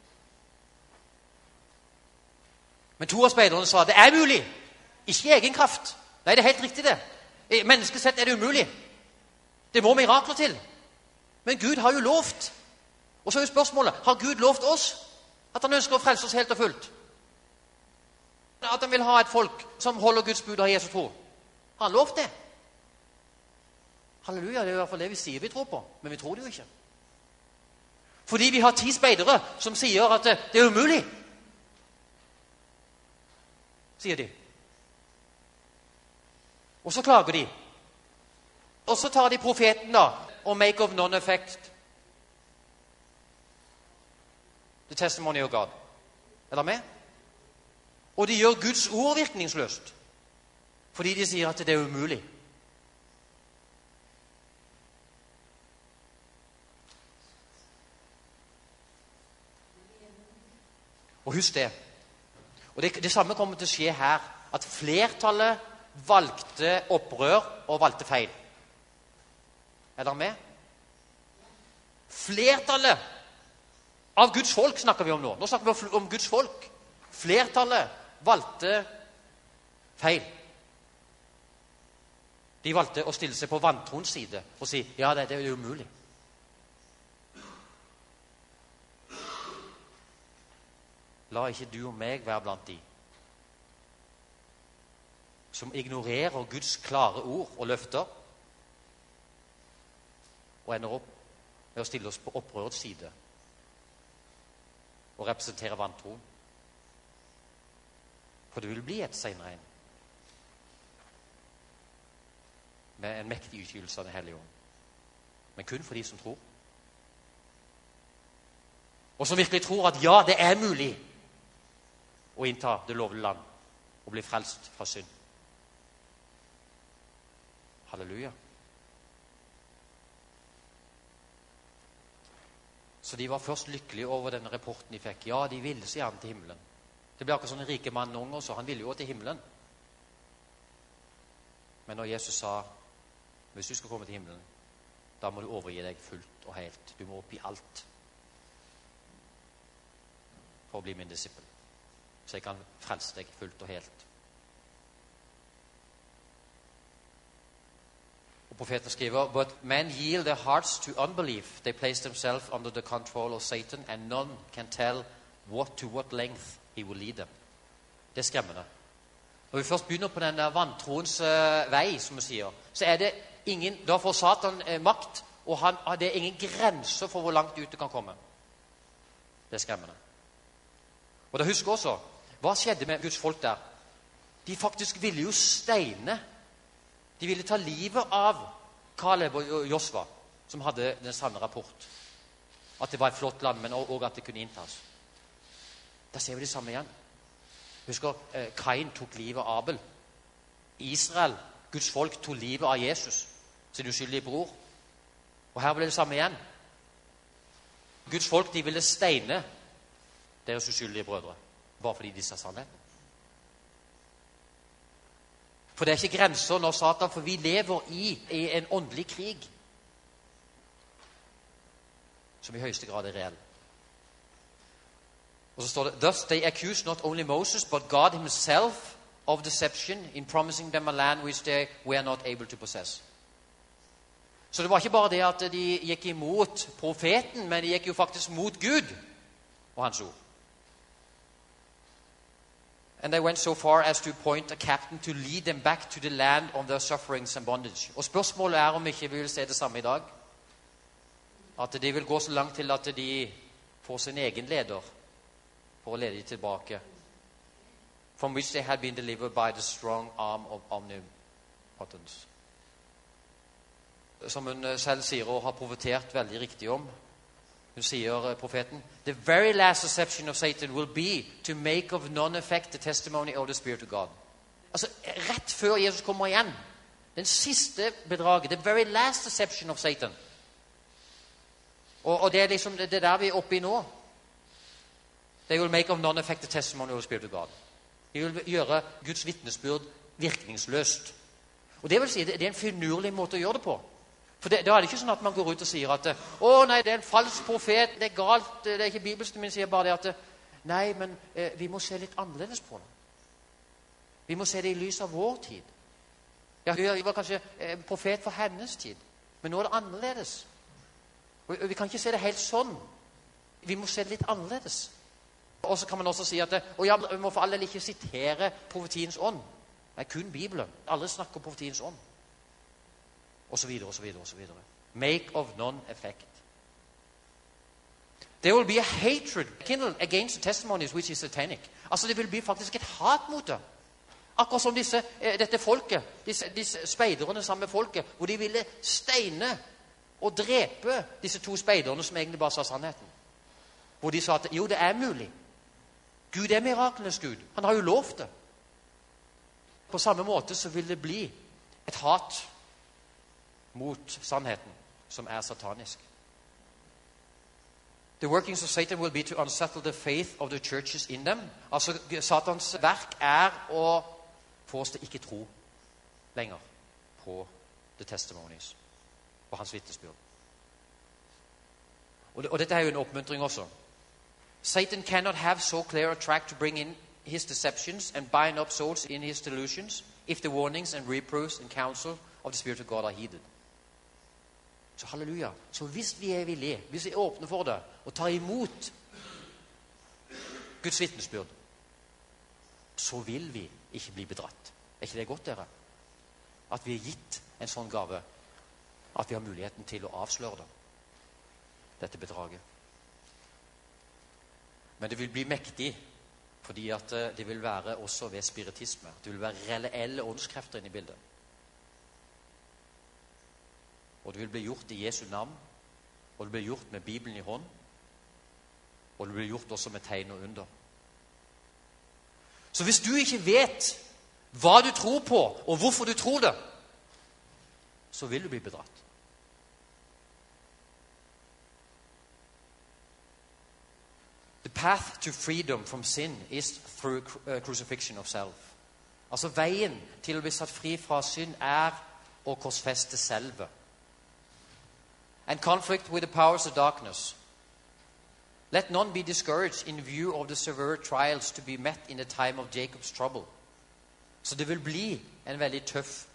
Men 2 av speiderne sa det er mulig. Ikke i egen kraft. Nei, det er helt riktig det. I menneskelig sett er det umulig. Det må mirakler til. Men Gud har jo lovt. Og så er jo spørsmålet, har Gud lovt oss at han ønsker å frelse oss helt og fullt? At han vil ha et folk som holder Guds bud av Jesu tro? Har han lovt det? Halleluja, det er i hvert fall det vi sier vi tror på. Men vi tror det jo ikke. Fordi vi har 10 speidere som sier at det er umulig. Sier de. Og så klager de. Og så tar de profeten da, og make of non-effect. The testimony of God. Er dere med? Og de gjør Guds ord virkningsløst. Fordi de sier at det er umulig. Og husk det. Og det samme kommer til å skje her. At flertallet valgte opprør og valgte feil. Er dere med? Flertallet av Guds folk snakker vi om nå. Nå snakker vi om Guds folk. Flertallet valgte feil. De valgte å stille seg på vantroens side og si, ja, det er umulig. La ikke du og meg være blant de som ignorerer Guds klare ord og løfter, og ender opp med å stille oss på opprørets side og representere vantro. For det vil bli et senere en med en mektig utgytelse av Den hellige ånd. Men kun for de som tror. Og som virkelig tror at ja, det er mulig å innta det lovlige land og bli frelst fra synd. Halleluja. Så de var først lykkelige over denne rapporten de fikk. Ja, de ville så gjerne til himmelen. Det ble akkurat sånn en rike mann ung også. Han ville jo til himmelen. Men når Jesus sa, hvis du skal komme til himmelen, da må du overgi deg fullt og helt. Du må oppgi alt for å bli min disippel. Så jeg kan frelse deg fullt og helt. Og profeten skriver, but men yield their hearts to unbelief. They place themselves under the control of Satan, and none can tell to what length he will lead them. Det er skremmende. Når vi først begynner på den der vantroens vei, som vi sier, så er det ingen, da får Satan makt, og det er ingen grenser for hvor langt ut det kan komme. Det er skremmende. Og da husker også, hva skjedde med Guds folk der? De faktisk ville jo steine. De ville ta livet av Kaleb og Josva, som hadde den sanne rapport. At det var et flott land, men også at det kunne inntas. Da ser vi det samme igjen. Husker, Kain tok livet av Abel. Israel, Guds folk, tok livet av Jesus, sin uskyldige bror. Og her ble det samme igjen. Guds folk, de ville steine deres uskyldige brødre, bare fordi de sa sannheten. For det er ikke grenser når Satan, for vi lever i en åndelig krig som i høyeste grad er reell. Og så står det, thus they accuse not only Moses, but God himself of deception in promising them a land which they were not able to possess. Så det var ikke bare det at de gikk imot profeten, men de gikk jo faktisk mot Gud og hans ord. And they went so far as to appoint a captain to lead them back to the land of their sufferings and bondage. Og spørsmålet er om ikke vi vil se det samme i dag. At de vil gå så langt til at de får sin egen leder for å lede dem tilbake. From which they had been delivered by the strong arm of omnipotence. Som hun selv sier og har profetert veldig riktig om. Hun sier, profeten, the very last deception of Satan will be to make of non-effect the testimony of the Spirit of God. Altså, rett før Jesus kommer igjen, den siste bedraget, the very last deception of Satan. Og det er liksom det der vi er oppe i nå. They will make of non-effect the testimony of the Spirit of God. De vil gjøre Guds vitnesbyrd virkningsløst. Og det vil si, det er en finurlig måte å gjøre det på. For da er det ikke sånn at man går ut og sier at nei, det er en falsk profet, det er galt, det er ikke bibelsk, men sier bare det at nei, men vi må se litt annerledes på det. Vi må se det i lys av vår tid. Ja, vi var kanskje profet for hennes tid, men nå er det annerledes. Og vi kan ikke se det helt sånn. Vi må se det litt annerledes. Og så kan man også si at ja, vi må for all del ikke sitere profetiens ånd. Nei, kun Bibelen. Alle snakker om profetiens ånd. Og så videre, og så videre, og så videre. Make of non-effect. There will be a hatred kindled against the testimonies which is satanic. Altså det vil bli faktisk et hat mot det. Akkurat som dette folket, disse speiderne sammen med folket, hvor de ville steine og drepe disse to speiderne som egentlig bare sa sannheten. Hvor de sa at jo, det er mulig. Gud er miraklenes Gud. Han har jo lovt det. På samme måte så vil det bli et hat mot sannheten, som er satanisk. The workings of Satan will be to unsettle the faith of the churches in them. Altså, Satans verk er å få oss til ikke tro lenger på the testimonies, på hans vitnesbyrd. Og dette er jo en oppmuntring også. Satan cannot have so clear a track to bring in his deceptions and bind up souls in his delusions if the warnings and reproofs and counsel of the Spirit of God are heeded. Så halleluja. Så hvis vi er villige, hvis vi er åpne for det, og tar imot Guds vitnesbyrd, så vil vi ikke bli bedratt. Er ikke det godt, dere? At vi er gitt en sånn gave, at vi har muligheten til å avsløre det, dette bedraget. Men det vil bli mektig, fordi at det vil være også ved spiritisme. Det vil være reelle åndskrefter inne i bildet. Og det vil bli gjort i Jesu navn, og det blir gjort med Bibelen i hånd, og det blir gjort også med tegn og under. Så hvis du ikke vet hva du tror på, og hvorfor du tror det, så vil du bli bedratt. The path to freedom from sin is through crucifixion of self. Altså veien til å bli satt fri fra synd er å korsfeste selve. And conflict with the powers of darkness. Let none be discouraged in view of the severe trials to be met in the time of Jacob's trouble. Så det vil bli en veldig tøff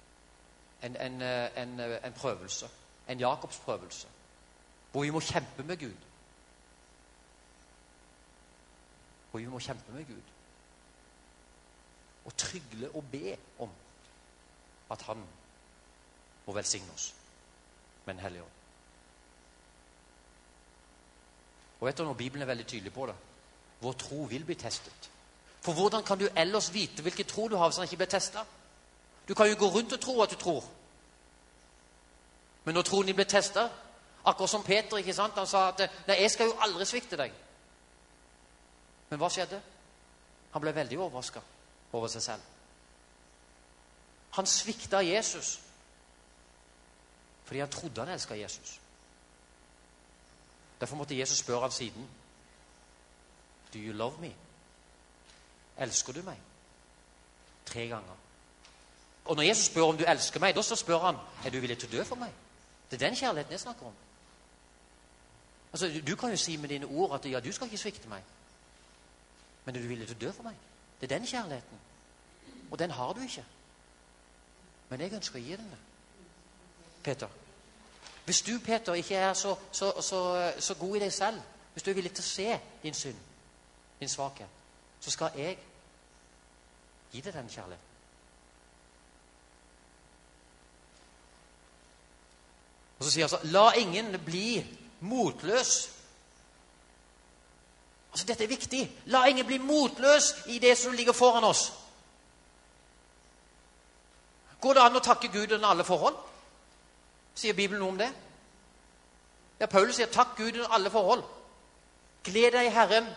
en prøvelse, en Jakobs prøvelse, hvor vi må kjempe med Gud. Hvor vi må kjempe med Gud. Og trygle og be om at han må velsigne oss med en hellig ånd. Og vet du, når Bibelen er veldig tydelig på det, vår tro vil bli testet. For hvordan kan du ellers vite hvilken tro du har hvis den ikke blir testet? Du kan jo gå rundt og tro at du tror. Men når troen din blir testet, akkurat som Peter, ikke sant? Han sa at nei, jeg skal jo aldri svikte deg. Men hva skjedde? Han ble veldig overrasket over seg selv. Han sviktet Jesus fordi han trodde han elsket Jesus. Derfor måtte Jesus spørre ham siden, Do you love me? Elsker du meg? 3 ganger. Og når Jesus spør om du elsker meg, da så spør han, er du villig til å dø for meg? Det er den kjærligheten jeg snakker om. Altså, du kan jo si med dine ord at ja, du skal ikke svikte meg. Men er du villig til å dø for meg? Det er den kjærligheten. Og den har du ikke. Men jeg ønsker å gi den det. Peter. Hvis du, Peter, ikke er så god i deg selv, hvis du er villig til å se din synd, din svakhet, så skal jeg gi deg den kjærligheten. Og så sier han så, la ingen bli motløs. Altså, dette er viktig. La ingen bli motløs i det som ligger foran oss. Går det an å takke Gud under alle forhold? Sier Bibelen noe om det? Ja, Paulus sier takk Gud under alle forhold. Gled deg i Herren.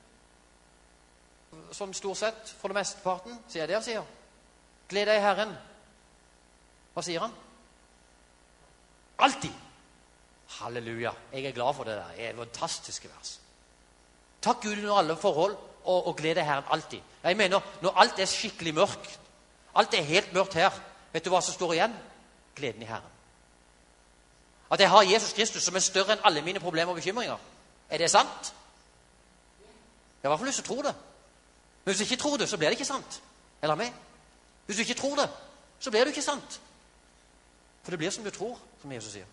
Som stort sett, for det meste parten, sier det han sier. Gled deg i Herren. Hva sier han? Alltid. Halleluja. Jeg er glad for det der. Det er fantastiske vers. Takk Gud under alle forhold, og gled deg i Herren alltid. Jeg mener, når alt er skikkelig mørkt, alt er helt mørkt her, vet du hva som står igjen? Gleden i Herren. At jeg har Jesus Kristus som er større enn alle mine problemer og bekymringer. Er det sant? Jeg har i hvert fall lyst til å tro det. Men hvis du ikke tror det, så blir det ikke sant. Eller meg? Hvis du ikke tror det, så blir det ikke sant. For det blir som du tror, som Jesus sier.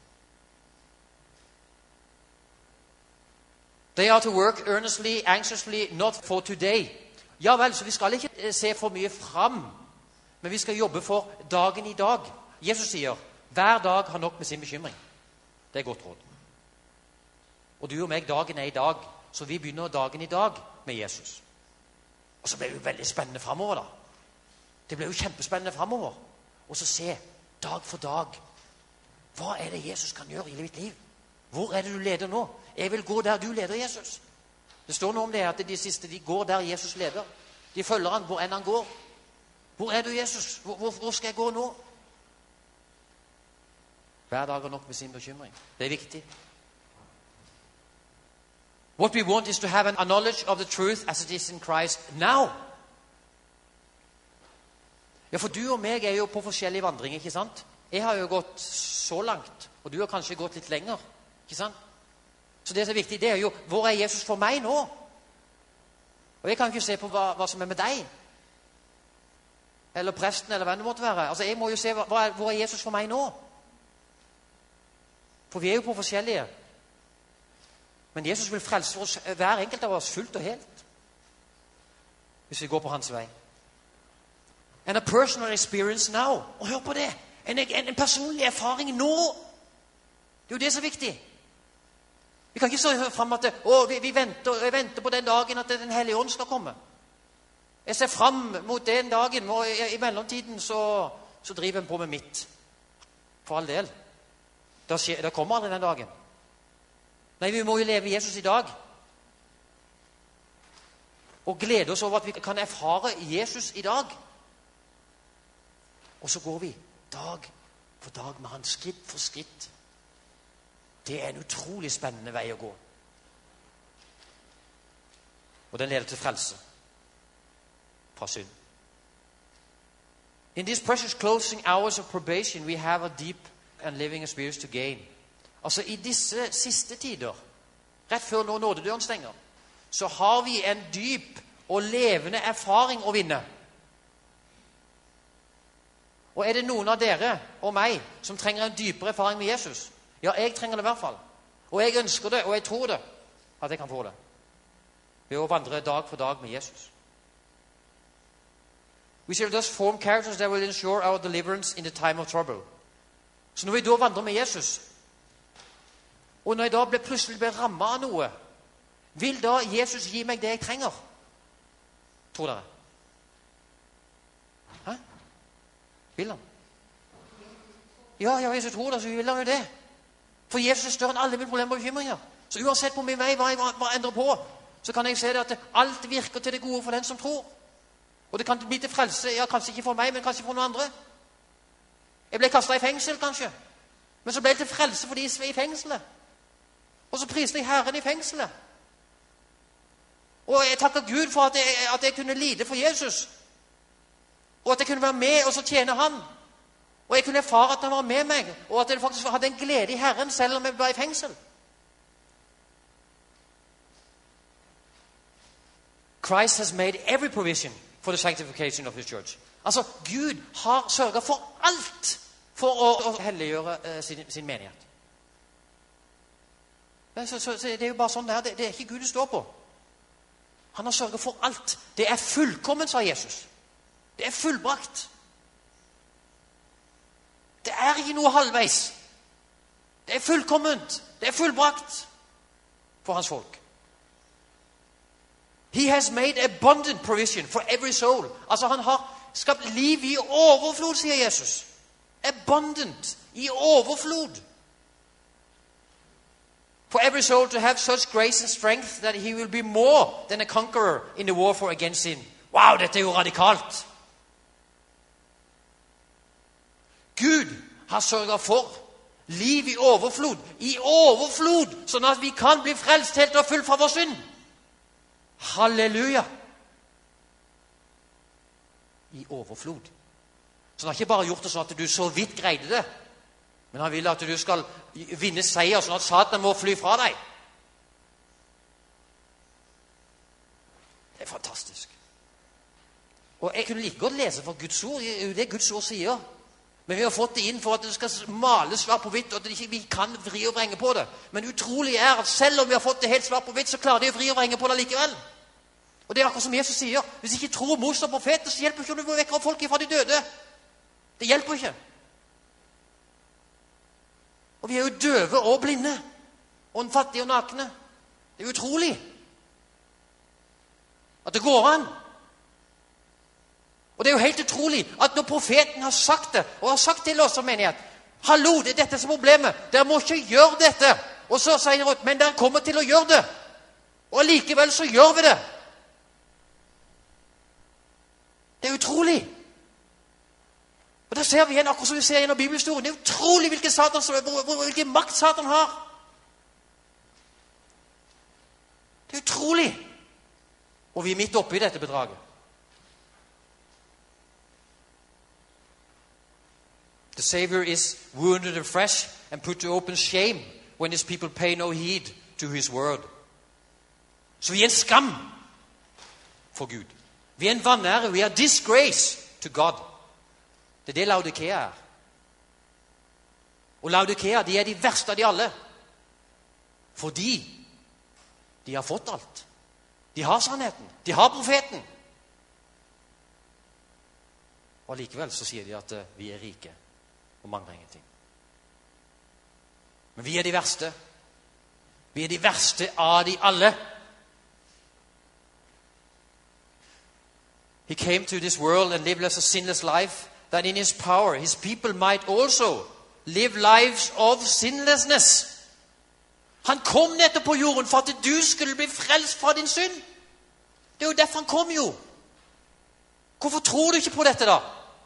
They are to work earnestly, anxiously, not for today. Ja vel, så vi skal ikke se for mye fram, men vi skal jobbe for dagen i dag. Jesus sier, hver dag har nok med sin bekymring. Det er godt råd. Og du og meg, dagen er i dag, så vi begynner dagen i dag med Jesus. Og så blir det jo veldig spennende fremover da. Det blir jo kjempespennende fremover. Og så se, dag for dag, hva er det Jesus kan gjøre i mitt liv? Hvor er det du leder nå? Jeg vil gå der du leder, Jesus. Det står noe om det at de siste, de går der Jesus leder. De følger han hvor enn han går. Hvor er du, Jesus? Hvor skal jeg gå nå? Hver dag har nok med sin bekymring. Det er viktig. What we want is to have a knowledge of the truth as it is in Christ now. Ja, for du og meg er jo på forskjellige vandringer, ikke sant? Jeg har jo gått så langt, og du har kanskje gått litt lenger, ikke sant? Så det som er viktig, det er jo, hvor er Jesus for meg nå? Og jeg kan ikke se på hva som er med deg, eller presten, eller hva det måtte være. Altså, jeg må jo se, hvor er Jesus for meg nå? For vi er jo på forskjellige. Men Jesus vil frelse oss, hver enkelt av oss, fullt og helt. Hvis vi går på hans vei. And a personal experience now. Og hør på det. En personlig erfaring nå. Det er jo det som er viktig. Vi kan ikke stå frem at vi venter på den dagen at den hellige ånd skal komme. Jeg ser frem mot den dagen, og i mellomtiden så driver jeg på med mitt. For all del. Da kommer aldri den dagen. Nei, vi må jo leve Jesus i dag. Og glede oss over at vi kan erfare Jesus i dag. Og så går vi dag for dag med han, skritt for skritt. Det er en utrolig spennende vei å gå. Og den leder til frelse fra synd. In these precious closing hours of probation, we have a deep and living experience to gain. Altså i disse siste tider, rett før når nådedøren stenger, så har vi en dyp og levende erfaring å vinne. Og er det noen av dere og meg som trenger en dypere erfaring med Jesus? Ja, jeg trenger det i hvert fall. Og jeg ønsker det, og jeg tror det, at jeg kan få det. Ved å vandre dag for dag med Jesus. We shall thus form characters that will ensure our deliverance in the time of trouble. Så når vi da vandrer med Jesus, og når jeg da plutselig blir rammet av noe, vil da Jesus gi meg det jeg trenger? Tror dere? Hæ? Vil han? Ja, hvis jeg tror det, så vil han jo det. For Jesus er større enn alle mine problemer og bekymringer. Så uansett på min vei hva jeg endrer på, så kan jeg se det at alt virker til det gode for den som tror. Og det kan bli til frelse, ja, kanskje ikke for meg, men kanskje for noen andre. Jeg ble kastet i fengsel, kanskje. Men så ble jeg til frelse for de som er i fengselet. Og så priste jeg Herren i fengselet. Og jeg takker Gud for at jeg kunne lide for Jesus. Og at jeg kunne være med og så tjene han. Og jeg kunne erfare at han var med meg, og at jeg faktisk hadde en glede i Herren selv om jeg var i fengsel. Christ has made every provision for the sanctification of his church. Altså, Gud har sørget for alt for å helliggjøre sin menighet. Så det er jo bare sånn det er. Det er ikke Gud det står på. Han har sørget for alt. Det er fullkomment, sa Jesus. Det er fullbrakt. Det er ikke noe halvveis. Det er fullkomment. Det er fullbrakt for hans folk. He has made abundant provision for every soul. Altså han har skapt liv i overflod, sier Jesus. Abundant, i overflod. For every soul to have such grace and strength that he will be more than a conqueror in the warfare against sin. Wow, dette er jo radikalt. Gud har sørget for liv i overflod, sånn at vi kan bli frelst helt og fullt fra vår synd. Halleluja! I overflod. Så han har ikke bare gjort det sånn at du så vidt greide det, men han vil at du skal vinne seier, sånn at Satan må fly fra deg. Det er fantastisk. Og jeg kunne like godt lese for Guds ord, det Guds ord sier. Men vi har fått det inn for at det skal males svart på hvitt, og at vi kan vri og vrenge på det. Men utrolig er at selv om vi har fått det helt svart på hvitt, så klarer de å vri og vrenge på det likevel. Og det er akkurat som Jesus sier. Hvis ikke tror Moses og profeter, så hjelper ikke om du vekker folk fra de døde. Det hjelper ikke. Og vi er jo døve og blinde, og fattige og nakne. Det er utrolig at det går an. Og det er jo helt utrolig at når profeten har sagt det, og har sagt til oss som menighet, hallo, det er dette som er problemet, dere må ikke gjøre dette. Og så sier han, men dere kommer til å gjøre det. Og likevel så gjør vi det. Det er utrolig. Og der ser vi igjen, akkurat som vi ser gjennom bibelhistorien, det er utrolig hvilken makt Satan har. Det er utrolig. Og vi er midt oppe i dette bedraget. The Savior is wounded afresh and put to open shame when his people pay no heed to his word. Så vi er en skam for Gud. Vi er en vanære. Vi er disgrace to God. Det er det Laodikea er. Og Laodikea, de er de verste av de alle. Fordi de har fått alt. De har sannheten. De har profeten. Og likevel så sier de at vi er rike. Og mangler ingenting. Men vi er de verste. Vi er de verste av de alle. He came to this world and lived as a sinless life, that in his power his people might also live lives of sinlessness. Han kom nettopp på jorden for at du skulle bli frelst fra din synd. Det er jo derfor han kom jo. Hvorfor tror du ikke på dette da?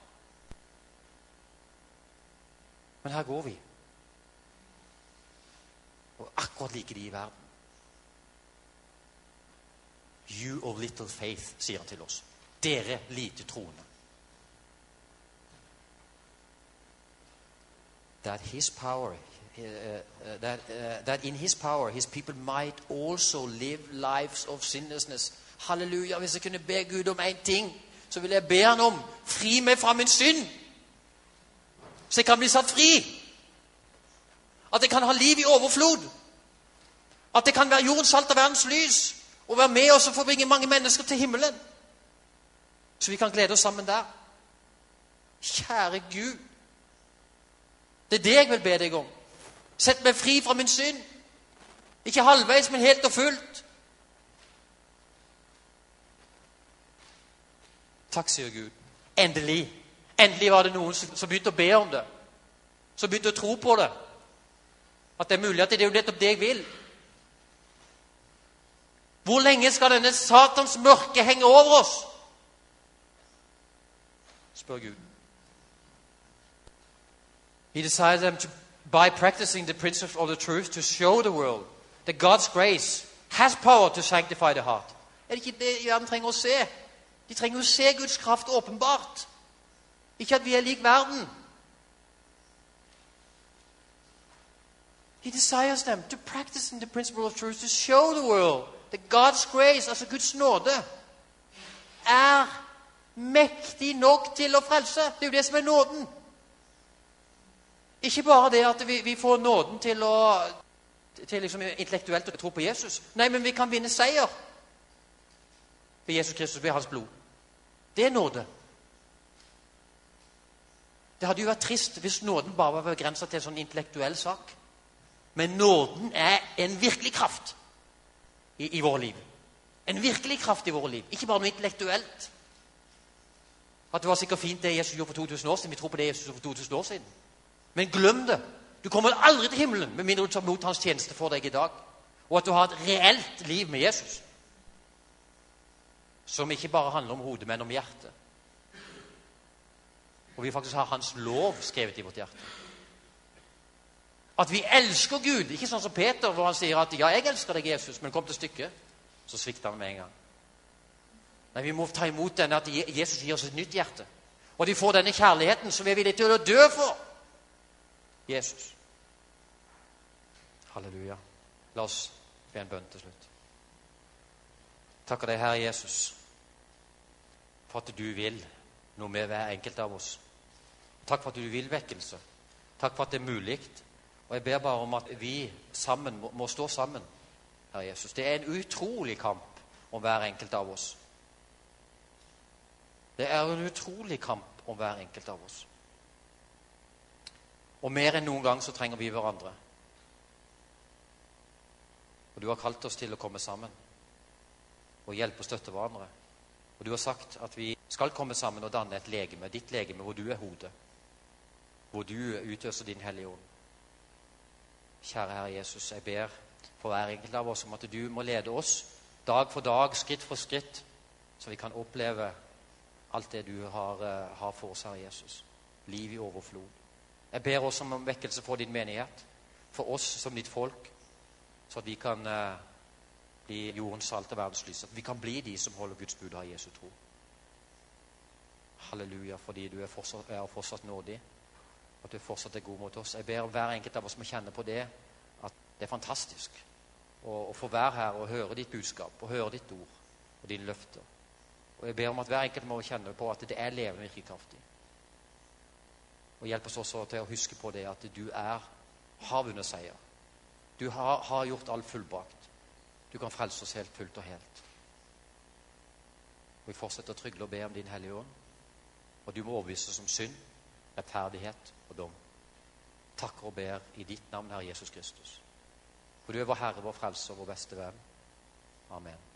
Men her går vi. Og akkurat like de i verden. You of little faith, sier han til oss. Dere lite troende. That his power, that in his power, his people might also live lives of sinlessness. Halleluja, hvis jeg kunne be Gud om en ting, så vil jeg be han om, fri meg fra min synd. Så jeg kan bli satt fri. At jeg kan ha liv i overflod. At det kan være jordens salt og verdens lys. Og være med oss og forbringe mange mennesker til himmelen. Så vi kan glede oss sammen der. Kjære Gud. Det er det jeg vil be deg om. Sett meg fri fra min synd. Ikke halvveis, men helt og fullt. Takk, sier Gud. Endelig. Endelig var det noen som begynte å be om det. Som begynte å tro på det. At det er mulig at det er jo nettopp det jeg vil. Hvor lenge skal denne satans mørke henge over oss? Spør Gud. He decided them to, by practicing the principles of the truth, to show the world that God's grace has power to sanctify the heart. Er det ikke det verden trenger å se? De trenger å se Guds kraft åpenbart. Ikke at vi er lik verden. He desires them to practice in the principle of truth, to show the world that God's grace, altså Guds nåde, er mektig nok til å frelse. Det er jo det som er nåden. Ikke bare det at vi får nåden til liksom intellektuelt å tro på Jesus. Nei, men vi kan vinne seier ved Jesus Kristus, ved hans blod. Det er nåde. Det hadde jo vært trist hvis nåden bare var begrenset til en sånn intellektuell sak. Men nåden er en virkelig kraft i våre liv. En virkelig kraft i våre liv. Ikke bare noe intellektuelt. At det var sikkert fint det Jesus gjorde for 2000 år siden. Vi tror på det Jesus gjorde for 2000 år siden. Men glem det. Du kommer aldri til himmelen med mindre du tar mot hans tjeneste for deg i dag. Og at du har et reelt liv med Jesus. Som ikke bare handler om hodet, men om hjertet. Og vi faktisk har hans lov skrevet i vårt hjerte. At vi elsker Gud. Ikke sånn som Peter, hvor han sier at ja, jeg elsker deg, Jesus, men kom til stykket. Så svikter han med en gang. Nei, vi må ta imot denne at Jesus gir oss et nytt hjerte. Og at vi får denne kjærligheten som vi er villige til å dø for. Jesus. Halleluja. La oss be en bønn til slutt. Takker deg, Herre Jesus, for at du vil noe med hver enkelt av oss. Takk for at du vil vekkelse. Takk for at det er mulig. Og jeg ber bare om at vi sammen må stå sammen, Herre Jesus. Det er en utrolig kamp om hver enkelt av oss. Det er en utrolig kamp om hver enkelt av oss. Og mer enn noen gang så trenger vi hverandre. Og du har kalt oss til å komme sammen og hjelpe og støtte hverandre. Og du har sagt at vi skal komme sammen og danne et legeme, ditt legeme, hvor du er hodet, hvor du utøser din hellige ånd. Kjære Herre Jesus, jeg ber for hver enkelt av oss om at du må lede oss dag for dag, skritt for skritt, så vi kan oppleve alt det du har for oss, Herre Jesus. Liv i overflod. Jeg ber også om vekkelse for din menighet, for oss som ditt folk, så at vi kan bli jordens salt og verdens lys, at vi kan bli de som holder Guds bud og har Jesu tro. Halleluja, fordi du er fortsatt nådig, at du fortsatt er god mot oss. Jeg ber om hver enkelt av oss må kjenne på det, at det er fantastisk å få være her og høre ditt budskap, og høre ditt ord og dine løfter. Og jeg ber om at hver enkelt må kjenne på at det er levende virkekraftig. Og hjelp oss også til å huske på det at du har vunnet seier. Du har gjort alt fullbrakt. Du kan frelse oss helt fullt og helt. Og vi fortsetter å trygle og be om din hellige ånd. Og du må overbevise oss om synd, rettferdighet og dom. Takker og ber i ditt navn, Herre Jesus Kristus. For du er vår Herre, vår frelser, vår beste venn. Amen.